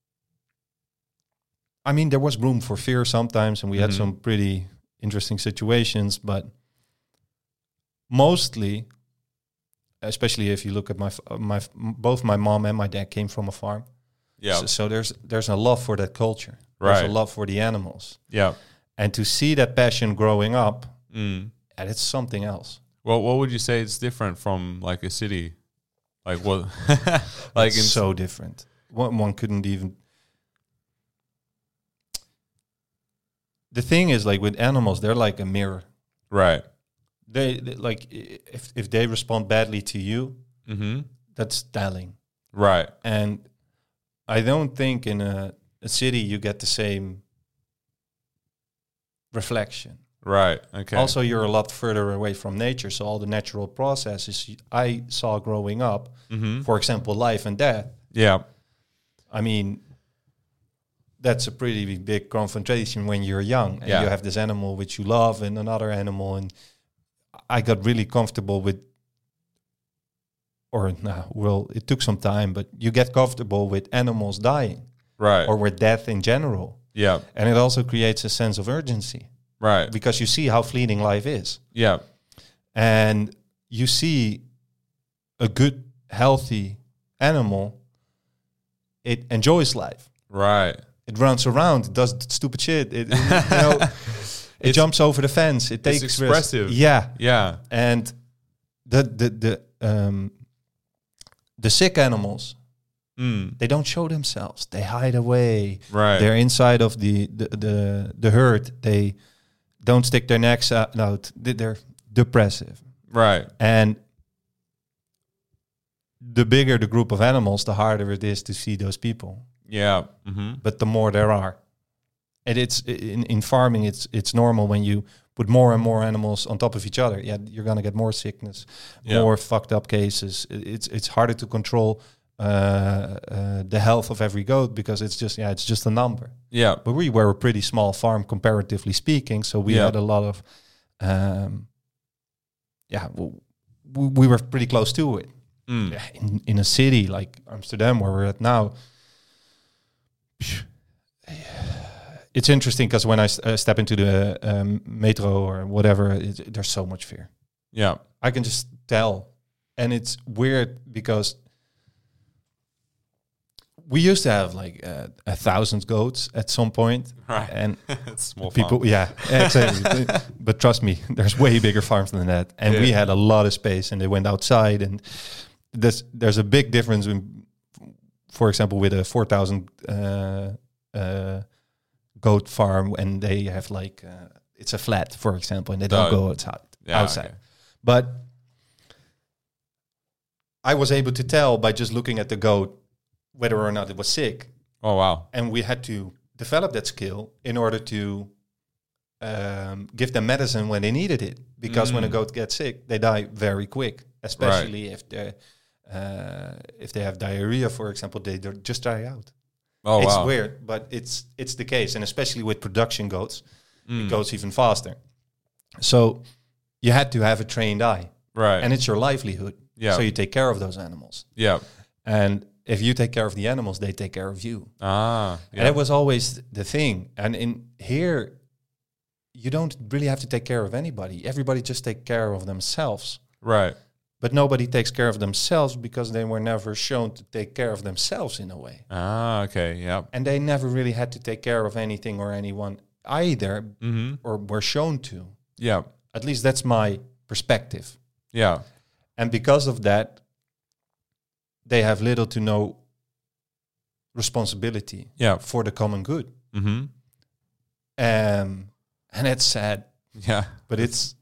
I mean, there was room for fear sometimes, and we had some pretty interesting situations, but mostly, especially if you look at both my mom and my dad came from a farm. Yeah. So there's a love for that culture. Right. There's a love for the animals. Yeah. And to see that passion growing up, Mm. and it's something else. Well, what would you say is different from like a city? Like what? Like It's so different. One couldn't even. The thing is, like with animals, they're like a mirror. right. They like if they respond badly to you, Mm-hmm. that's telling. Right. And I don't think in a city you get the same reflection. Right. Okay. Also, you're a lot further away from nature, so all the natural processes I saw growing up, for example, life and death. Yeah. I mean, that's a pretty big confrontation when you're young and Yeah. you have this animal which you love and another animal. And I got really comfortable with, it took some time, but you get comfortable with animals dying Right. or with death in general. Yeah. And it also creates a sense of urgency Right. because you see how fleeting life is. Yeah. And you see a good, healthy animal, it enjoys life. Right. It runs around, it does stupid shit. It It's- jumps over the fence. It takes risks. expressive. Yeah, Yeah. and the sick animals, Mm. they don't show themselves. They hide away. Right. They're inside of the herd. They don't stick their necks out. They're depressive. Right. And the bigger the group of animals, the harder it is to see those people. Yeah. Mm-hmm. But the more there are. And it's in farming, it's normal when you put more and more animals on top of each other. Yeah, you're gonna get more sickness, more fucked up cases. It's harder to control the health of every goat because it's just a number. Yeah. But we were a pretty small farm comparatively speaking, so we had a lot of, we were pretty close to it. Mm. In a city like Amsterdam, where we're at now, it's interesting because when I step into the metro or whatever, there's so much fear. Yeah. I can just tell. And it's weird because we used to have like 1,000 goats at some point. Right. And It's small people, farm. yeah, exactly. But trust me, there's way bigger farms than that. And we had a lot of space and they went outside. And there's a big difference in, for example, with a 4,000 goat farm, and they have like it's a flat, for example, and they don't go outside. Okay. But I was able to tell by just looking at the goat whether or not it was sick, Oh wow. and we had to develop that skill in order to give them medicine when they needed it. Because when a goat gets sick, they die very quick, especially if they have diarrhea, for example, they just die out. Oh It's wow. weird, but it's the case, and especially with production goats, it goes even faster. So you had to have a trained eye, Right. and it's your livelihood. Yeah. So you take care of those animals, Yeah. and if you take care of the animals, they take care of you. Ah. And Yeah. that was always the thing. And in here, you don't really have to take care of anybody. Everybody just take care of themselves. Right. But nobody takes care of themselves because they were never shown to take care of themselves in a way. Ah. Okay. Yeah. And they never really had to take care of anything or anyone either, Mm-hmm. or were shown to. Yeah. At least that's my perspective. Yeah. And because of that, they have little to no responsibility Yeah. for the common good. Mm-hmm. And it's sad, Yeah. but it's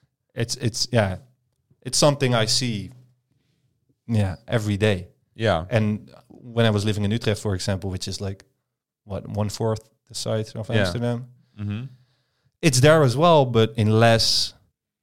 something I see every day. Yeah. And when I was living in Utrecht, for example, which is like, 1/4 the size of Yeah. Amsterdam, Mm-hmm. it's there as well, but in less.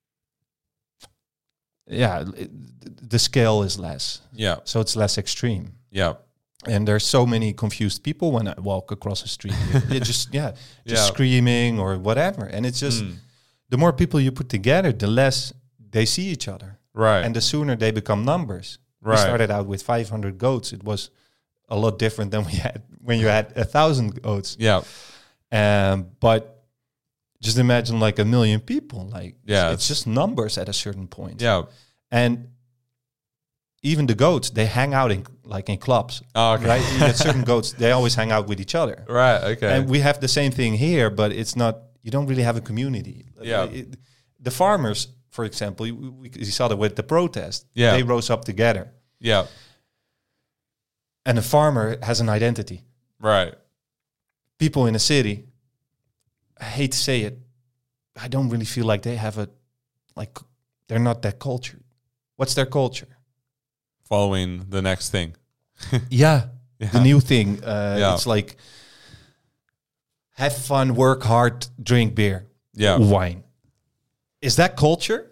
The scale is less, Yeah. so it's less extreme. Yeah. And there's so many confused people when I walk across the street. It just Yeah. screaming or whatever. And it's just the more people you put together, the less they see each other. Right. And the sooner they become numbers. We Right. started out with 500 goats. It was a lot different than we had when you had 1,000 goats. Yeah. But just imagine like 1 million people. Like, Yeah, it's just numbers at a certain point. Yeah. And even the goats, they hang out in clubs. Oh, okay. Right? You get certain goats, they always hang out with each other. Right. Okay. And we have the same thing here, but it's not, you don't really have a community. Yeah. The farmers, for example, you saw that with the protest. Yeah. They rose up together. Yeah. And the farmer has an identity. Right. People in the city, I hate to say it, I don't really feel like they have they're not that cultured. What's their culture? Following the next thing. Yeah. Yeah. The new thing. Yeah. It's like, have fun, work hard, drink beer, wine. Is that culture?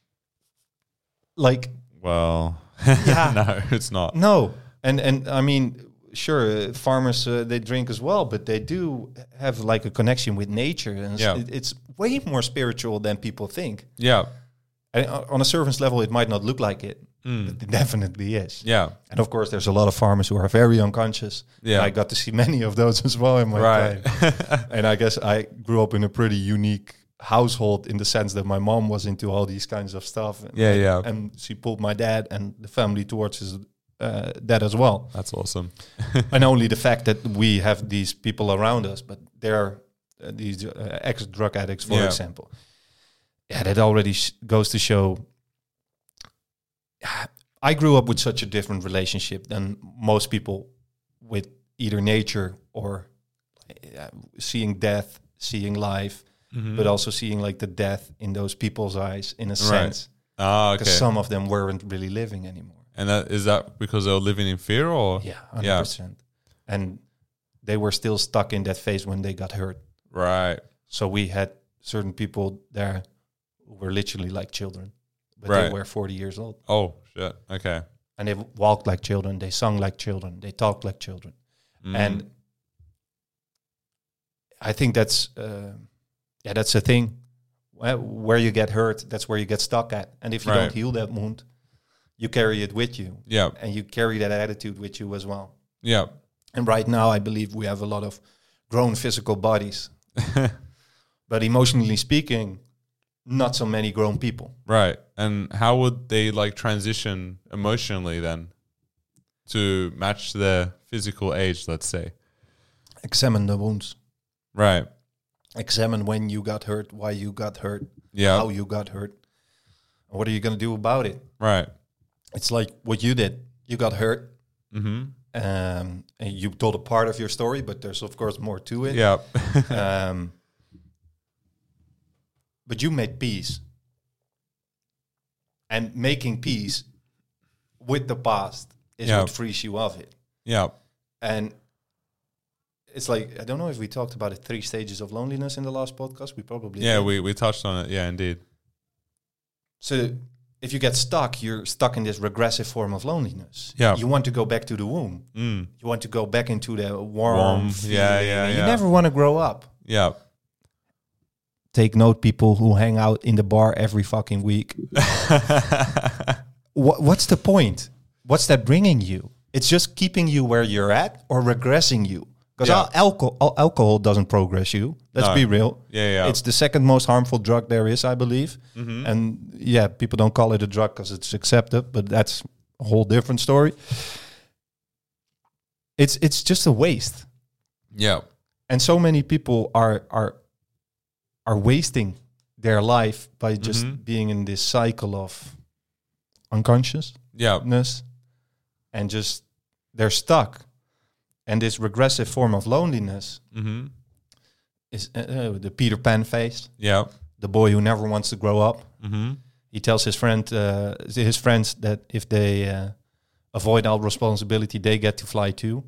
Like, Well, yeah. no, it's not. No. And I mean, sure, farmers, they drink as well, but they do have like a connection with nature. And it's way more spiritual than people think. Yeah. And on a surface level, it might not look like it, but it definitely is. Yeah. And of course, there's a lot of farmers who are very unconscious. Yeah. I got to see many of those as well in my time. And I guess I grew up in a pretty unique household in the sense that my mom was into all these kinds of stuff. And, and she pulled my dad and the family towards that as well. That's awesome. And only the fact that we have these people around us, but they're these ex-drug addicts, for example. Yeah, that already goes to show. I grew up with such a different relationship than most people with either nature or seeing death, seeing life, but also seeing like the death in those people's eyes in a sense. Ah, okay. Because some of them weren't really living anymore. And is that because they were living in fear or? Yeah, 100%. And they were still stuck in that phase when they got hurt. Right. So we had certain people there who were literally like children, but they were 40 years old. Oh, shit. Okay. And they walked like children, they sung like children, they talked like children. And I think that's a thing. Where you get hurt, that's where you get stuck at. And if you don't heal that wound, you carry it with you. Yeah. And you carry that attitude with you as well. Yeah. And right now, I believe we have a lot of grown physical bodies. But emotionally speaking, not so many grown people. Right. And how would they like transition emotionally then to match their physical age, let's say? Examine the wounds. Right. Examine when you got hurt, why you got hurt, Yeah. how you got hurt. What are you going to do about it? Right. It's like what you did. You got hurt. Mm-hmm. And you told a part of your story, but there's, of course, more to it. Yeah. But you made peace. And making peace with the past is what frees you of it. Yeah. And it's like, I don't know if we talked about the 3 stages of loneliness in the last podcast. We probably did. we touched on it. Yeah, indeed. So if you get stuck, you're stuck in this regressive form of loneliness. Yeah. You want to go back to the womb. You want to go back into the warm feeling. Yeah. You never want to grow up. Yeah. Take note, people who hang out in the bar every fucking week. What's the point? What's that bringing you? It's just keeping you where you're at or regressing you. Because alcohol doesn't progress you. Let's be real. Yeah. It's the second most harmful drug there is, I believe. And people don't call it a drug because it's accepted, but that's a whole different story. It's just a waste. Yeah. And so many people are wasting their life by just being in this cycle of unconsciousness and just they're stuck. And this regressive form of loneliness is the Peter Pan phase. Yeah. The boy who never wants to grow up. He tells his friends that if they avoid all responsibility, they get to fly too.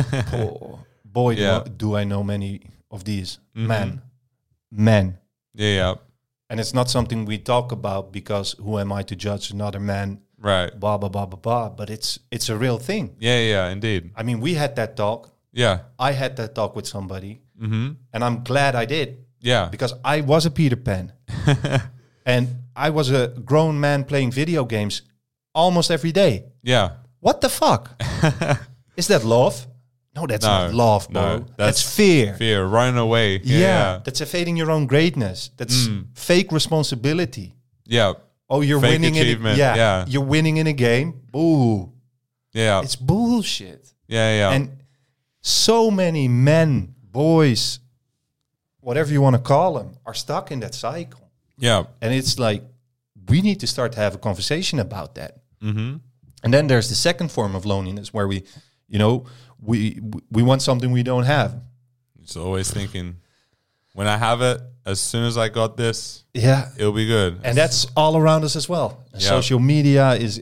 Do I know many of these men. Yeah. And it's not something we talk about because who am I to judge another man? Right. Blah, blah, blah, blah, blah. But it's a real thing. Yeah, indeed. I mean, we had that talk. Yeah. I had that talk with somebody. And I'm glad I did. Yeah. Because I was a Peter Pan. And I was a grown man playing video games almost every day. Yeah. What the fuck? Is that love? No, that's not love, bro. That's fear. Fear, running away. Yeah, that's evading your own greatness. That's fake responsibility. Yeah. Oh, you're Fake winning achievement. You're winning in a game. Boo. Yeah. It's bullshit. Yeah. And so many men, boys, whatever you want to call them, are stuck in that cycle. Yeah. And it's like, we need to start to have a conversation about that. Mm-hmm. And then there's the second form of loneliness where we want something we don't have. It's always thinking, when I have it, as soon as I got this, it'll be good. And that's all around us as well. Yeah. Social media is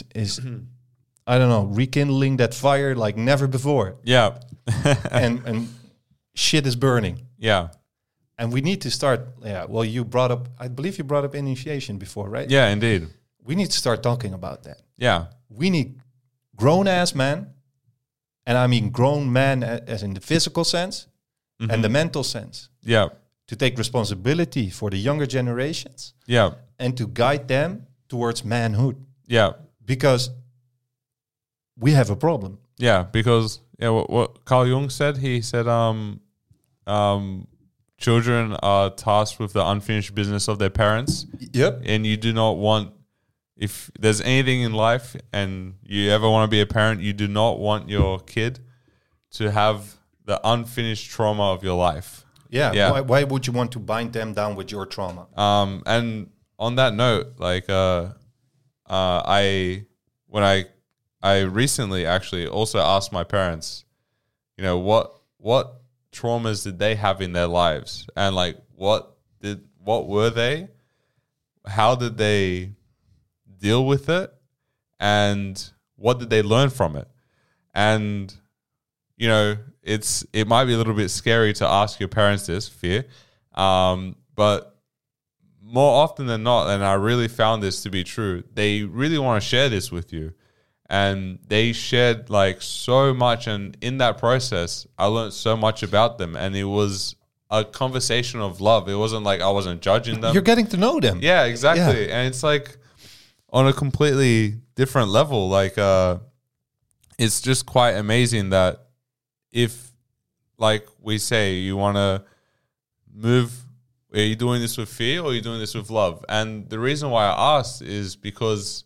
I don't know, rekindling that fire like never before. Yeah. and shit is burning. Yeah. And we need to start, well, I believe you brought up initiation before, right? Yeah, indeed. We need to start talking about that. Yeah. We need grown-ass men, and I mean grown men as in the physical sense and the mental sense. Yeah. To take responsibility for the younger generations. Yeah. And to guide them towards manhood. Yeah. Because we have a problem. Yeah, because what Carl Jung said, he said children are tasked with the unfinished business of their parents. Yep. And you do not want, if there's anything in life and you ever want to be a parent, you do not want your kid to have the unfinished trauma of your life. Yeah. Why would you want to bind them down with your trauma? And on that note, like I recently actually also asked my parents, what traumas did they have in their lives, and like what were they? How did they deal with it, and what did they learn from it? And it might be a little bit scary to ask your parents this, fear, but more often than not, and I really found this to be true, they really want to share this with you. And they shared like so much, and in that process, I learned so much about them, and it was a conversation of love. It wasn't like I wasn't judging them. You're getting to know them. Yeah, exactly. Yeah. And it's like on a completely different level. Like it's just quite amazing that if, like we say, you want to move, are you doing this with fear or are you doing this with love? And the reason why I asked is because,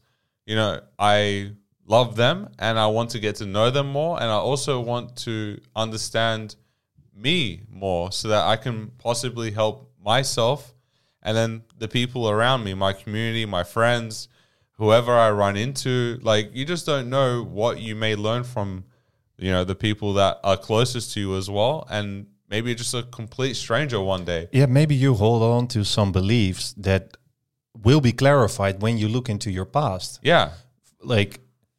I love them and I want to get to know them more, and I also want to understand me more so that I can possibly help myself and then the people around me, my community, my friends, whoever I run into. Like, you just don't know what you may learn from, the people that are closest to you as well, and maybe just a complete stranger one day. Yeah, maybe you hold on to some beliefs that will be clarified when you look into your past. Yeah. Like,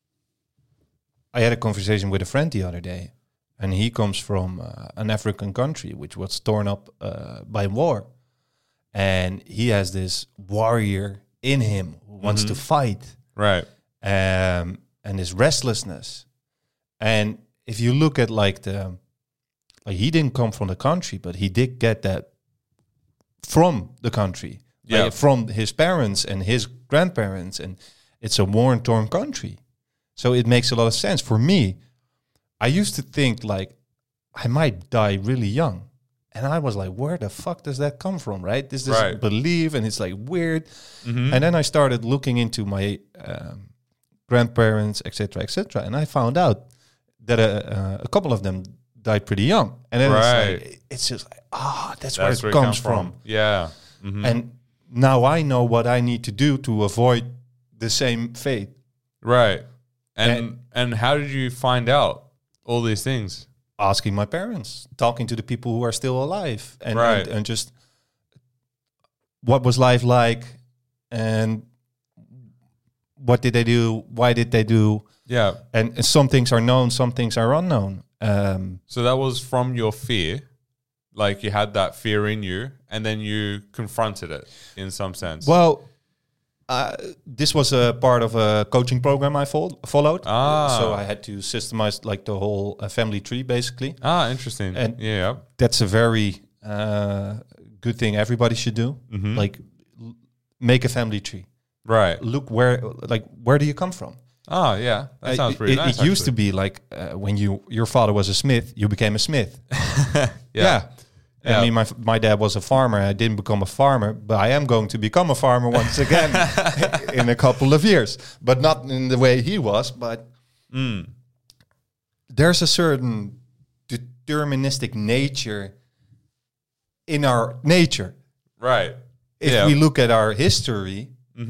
I had a conversation with a friend the other day, and he comes from an African country which was torn up by war. And he has this warrior in him who wants to fight. Right. And his restlessness. And if you look at he didn't come from the country, but he did get that from the country. Yeah. Like from his parents and his grandparents. And it's a war and torn country. So it makes a lot of sense. For me, I used to think like I might die really young. And I was like, where the fuck does that come from, right? This right. belief, and it's like weird. And then I started looking into my grandparents, etc., etc., and I found out that a couple of them died pretty young. And then it's just like, that's where it comes from. Yeah. Mm-hmm. And now I know what I need to do to avoid the same fate. Right. And how did you find out all these things? Asking my parents, talking to the people who are still alive, and just what was life like, and what did they do? Why did they do? Yeah. And some things are known, some things are unknown. So that was from your fear, like you had that fear in you, and then you confronted it in some sense. Well, this was a part of a coaching program I followed. So I had to systemize like the whole family tree, basically. Interesting. And yeah, that's a very good thing everybody should do. Like make a family tree. Right. Look where do you come from? Oh yeah, that sounds pretty nice. It used to be like when your father was a smith, you became a smith. Yeah. Yeah. I mean, my dad was a farmer. I didn't become a farmer, but I am going to become a farmer once again in a couple of years. But not in the way he was. But there's a certain deterministic nature in our nature. Right. If we look at our history,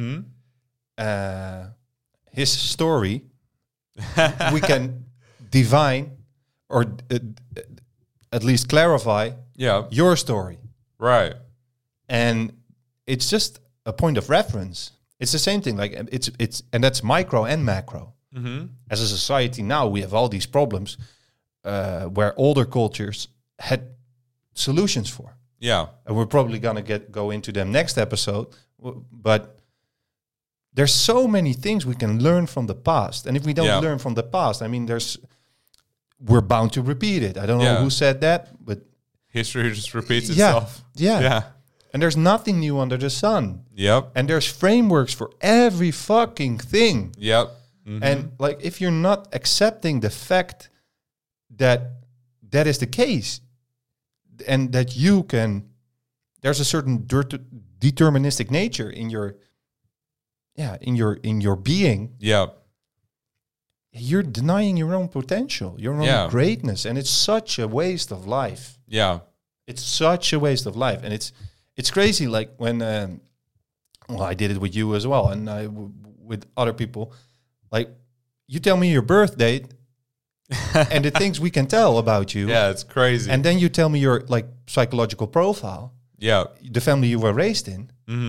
his story, we can divine or at least clarify your story. Right. And it's just a point of reference. It's the same thing. Like it's and that's micro and macro. As a society now, we have all these problems where older cultures had solutions for. Yeah. And we're probably gonna go into them next episode. But there's so many things we can learn from the past. And if we don't learn from the past, I mean, we're bound to repeat it. I don't know who said that, but history just repeats itself. Yeah. And there's nothing new under the sun. Yep. And there's frameworks for every fucking thing. Yep. And like, if you're not accepting the fact that is the case, and that there's a certain deterministic nature in your being. Yeah. You're denying your own potential, your own greatness, and it's such a waste of life. Yeah, it's such a waste of life, and it's crazy. Like when, I did it with you as well, and with other people. Like, you tell me your birth date, and the things we can tell about you. Yeah, it's crazy. And then you tell me your like psychological profile. Yeah, the family you were raised in.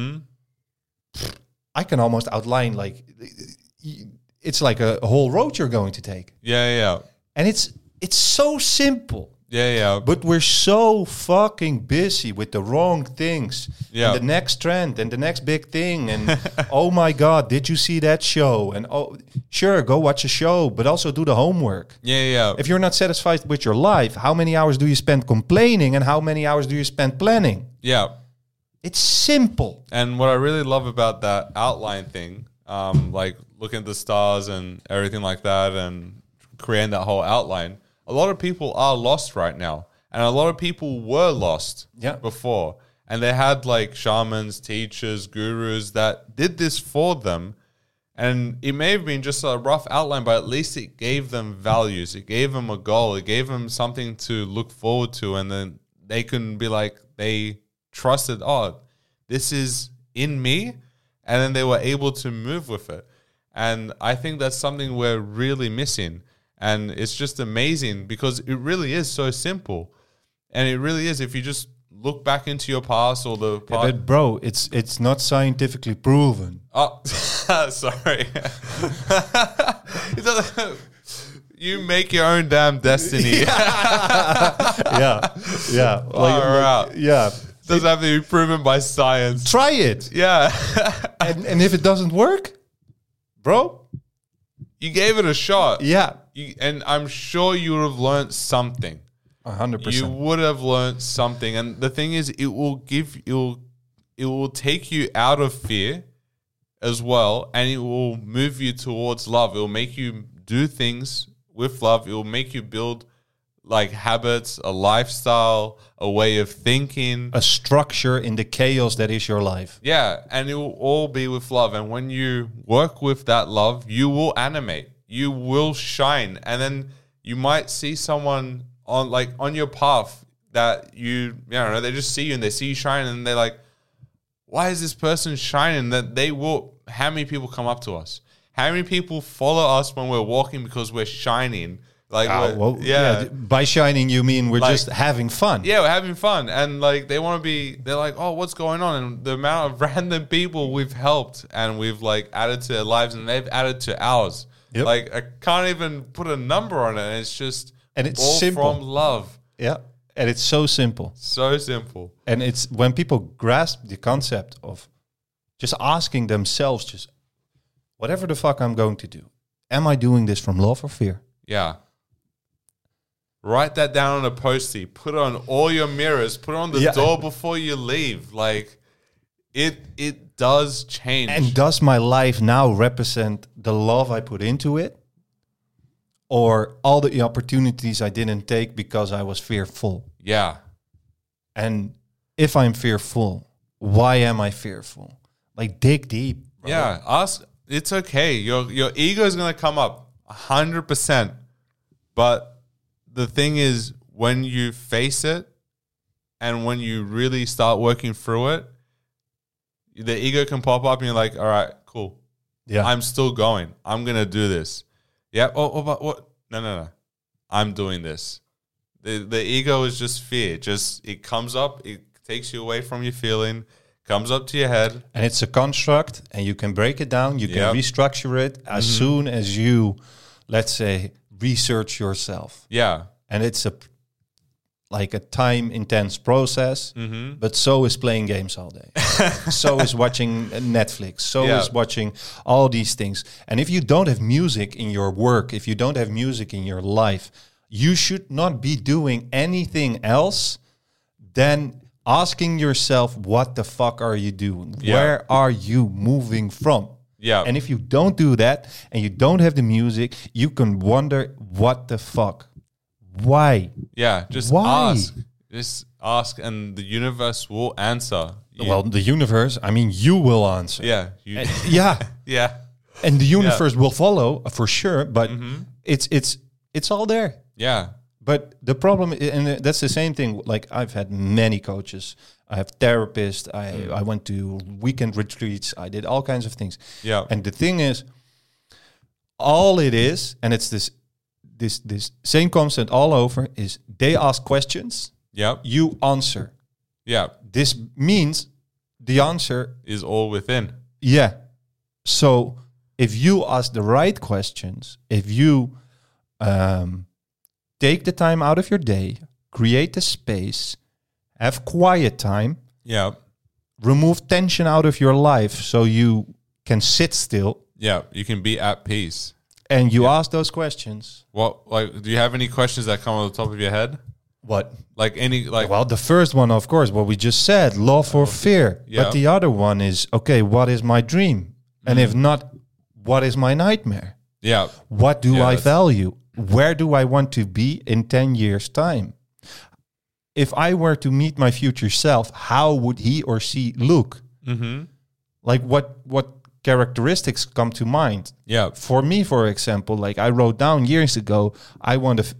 I can almost outline like. It's like a whole road you're going to take. Yeah. And it's so simple. Yeah. But we're so fucking busy with the wrong things. Yeah. And the next trend and the next big thing. And oh my God, did you see that show? And oh, sure, go watch a show, but also do the homework. Yeah. If you're not satisfied with your life, how many hours do you spend complaining and how many hours do you spend planning? Yeah. It's simple. And what I really love about that outline thing, like looking at the stars and everything like that and creating that whole outline, a lot of people are lost right now. And a lot of people were lost before. And they had like shamans, teachers, gurus that did this for them. And it may have been just a rough outline, but at least it gave them values. It gave them a goal. It gave them something to look forward to. And then they can be like, they trusted, oh, this is in me. And then they were able to move with it. And I think that's something we're really missing. And it's just amazing because it really is so simple. And it really is. If you just look back into your past or the past. But bro, it's not scientifically proven. Oh, sorry. You make your own damn destiny. Yeah. Doesn't have to be proven by science. Try it. Yeah. and if it doesn't work, bro, you gave it a shot. Yeah. And I'm sure you would have learned something. 100%. You would have learned something. And the thing is, it will take you out of fear as well. And it will move you towards love. It will make you do things with love. It will make you build like habits, a lifestyle, a way of thinking, a structure in the chaos that is your life. Yeah, and it will all be with love. And when you work with that love, you will animate, you will shine, and then you might see someone on your path that they just see you and they see you shine, and they're like, why is this person shining? That they will. How many people come up to us? How many people follow us when we're walking because we're shining? By shining, you mean we're just having fun. Yeah, we're having fun. And like they're like, oh, what's going on? And the amount of random people we've helped and we've like added to their lives and they've added to ours. Yep. Like I can't even put a number on it. And it's just all simple. From love. Yeah. And it's so simple. So simple. And it's when people grasp the concept of just asking themselves, just whatever the fuck I'm going to do, am I doing this from love or fear? Yeah. Write that down on a Post-it. Put it on all your mirrors. Put it on the door before you leave. Like, it does change. And does my life now represent the love I put into it? Or all the opportunities I didn't take because I was fearful? Yeah. And if I'm fearful, why am I fearful? Like, dig deep. Bro. Yeah. Ask. It's okay. Your ego is going to come up 100%. But the thing is, when you face it and when you really start working through it, the ego can pop up and you're like, all right, cool. Yeah. I'm still going. I'm going to do this. Yeah. Oh, but what? No. I'm doing this. The ego is just fear. It comes up. It takes you away from your feeling. Comes up to your head. And it's a construct, and you can break it down. You can restructure it as soon as you, let's say, research yourself. Yeah. And it's a time-intense process, but so is playing games all day. So is watching Netflix. So is watching all these things. And if you don't have music in your work, if you don't have music in your life, you should not be doing anything else than asking yourself, what the fuck are you doing? Yeah. Where are you moving from? Yeah. And if you don't do that and you don't have the music, you can wonder, what the fuck? Why? Yeah, just Why? ask. Just ask, and the universe will answer. Well, the universe, I mean, you will answer. Yeah. Yeah. Yeah. And the universe will follow for sure, but it's all there. Yeah. But the problem, and that's the same thing, like I've had many coaches, I have therapists, I went to weekend retreats, I did all kinds of things. Yeah. And the thing is, all it is, and it's this same concept all over, is they ask questions, Yeah. you answer. Yeah. This means the answer, Is all within. yeah. So if you ask the right questions, if you take the time out of your day, create the space, have quiet time, Yeah. remove tension out of your life so you can sit still, Yeah. You can be at peace. and you ask those questions. Do you have any questions that come on the top of your head? What? Well, The first one, of course, what we just said, love or fear. Yeah. But the other one is, okay, what is my dream? And if not, what is my nightmare? yeah. What do Yeah, I that's- value? Where do I want to be in 10 years' time? If I were to meet my future self, how would he or she look? Mm-hmm. Like what characteristics come to mind? Yeah. For me, for example, like I wrote down years ago, I want to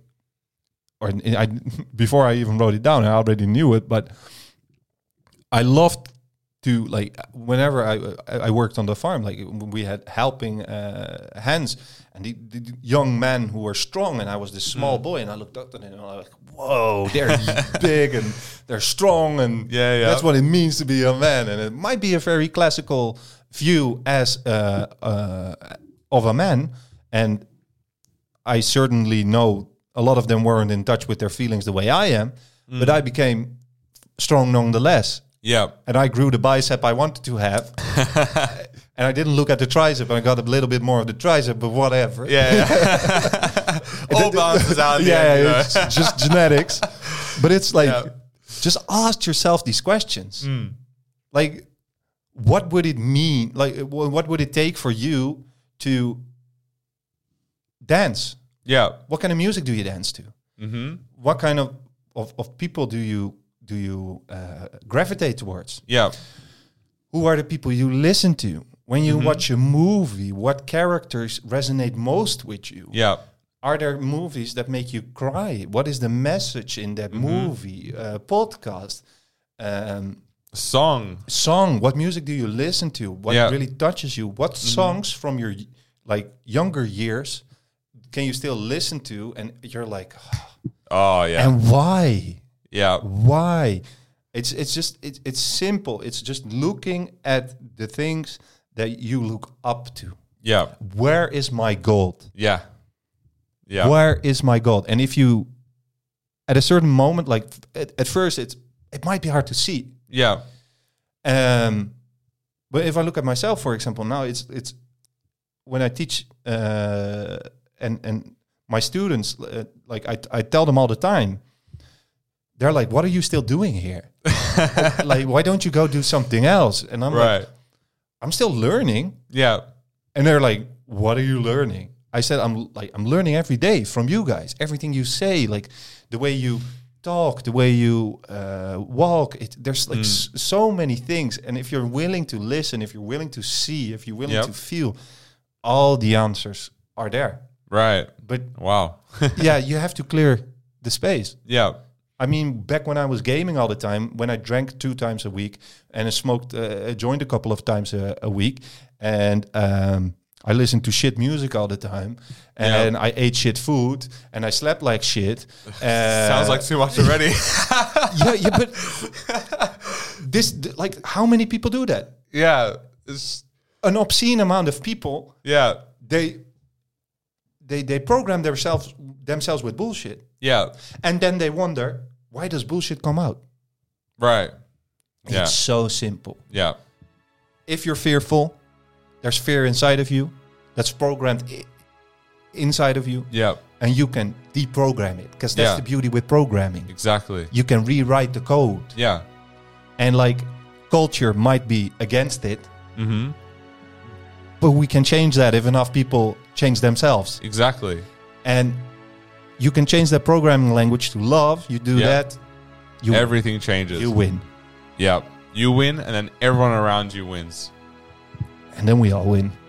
before I even wrote it down, I already knew it, but I loved to, like, whenever I worked on the farm, like we had helping hands, and the young men who were strong, and I was this small boy, and I looked up at them and I was like, whoa, they're big and they're strong, and Yeah. that's what it means to be a man. And it might be a very classical view as of a man, and I certainly know a lot of them weren't in touch with their feelings the way I am, but I became strong nonetheless. Yeah. And I grew the bicep I wanted to have. And I didn't look at the tricep, and I got a little bit more of the tricep, but whatever. Yeah. All balances out. At the end, you know? It's just genetics. But it's like, Yeah. just ask yourself these questions. Like, what would it mean? Like, what would it take for you to dance? Yeah. What kind of music do you dance to? Mm-hmm. What kind of people do you gravitate towards? Yeah. Who are the people you listen to? When you watch a movie, what characters resonate most with you? Yeah. Are there movies that make you cry? What is the message in that movie? Podcast, song. What music do you listen to? What really touches you? What songs from your younger years can you still listen to? And you're like, Oh yeah. and why? Yeah. Why? It's simple. It's just looking at the things that you look up to. Yeah. Where is my gold? Yeah. Yeah. Where is my gold? And if you, at a certain moment, like at first, it might be hard to see. Yeah. But if I look at myself, for example, now it's when I teach and my students, I tell them all the time, they're like, "What are you still doing here?" Like, why don't you go do something else? And I'm like, Right. I'm still learning. Yeah. And they're like, what are you learning? I said, I'm learning every day from you guys. Everything you say, like the way you talk, the way you walk. There's like so many things. And if you're willing to listen, if you're willing to see, if you're willing to feel, all the answers are there. Right. But Wow. yeah, you have to clear the space. Yeah. I mean, back when I was gaming all the time, when I drank 2 times a week and I smoked, joined a couple of times a week, and I listened to shit music all the time, and I ate shit food, and I slept like shit. Sounds like too much already. yeah, but like, how many people do that? Yeah. It's, An obscene amount of people. yeah. They program themselves with bullshit, Yeah. and then they wonder, why does bullshit come out? Right. Yeah. It's so simple. Yeah. If you're fearful, there's fear inside of you that's programmed inside of you, Yeah. and you can deprogram it, because that's the beauty with programming. Exactly. You can rewrite the code, Yeah. and like, culture might be against it, Mm-hmm. but we can change that if enough people change themselves. Exactly. And you can change that programming language to love. You do that, Everything changes. you win, Yeah. You win, and then everyone around you wins. and then we all win.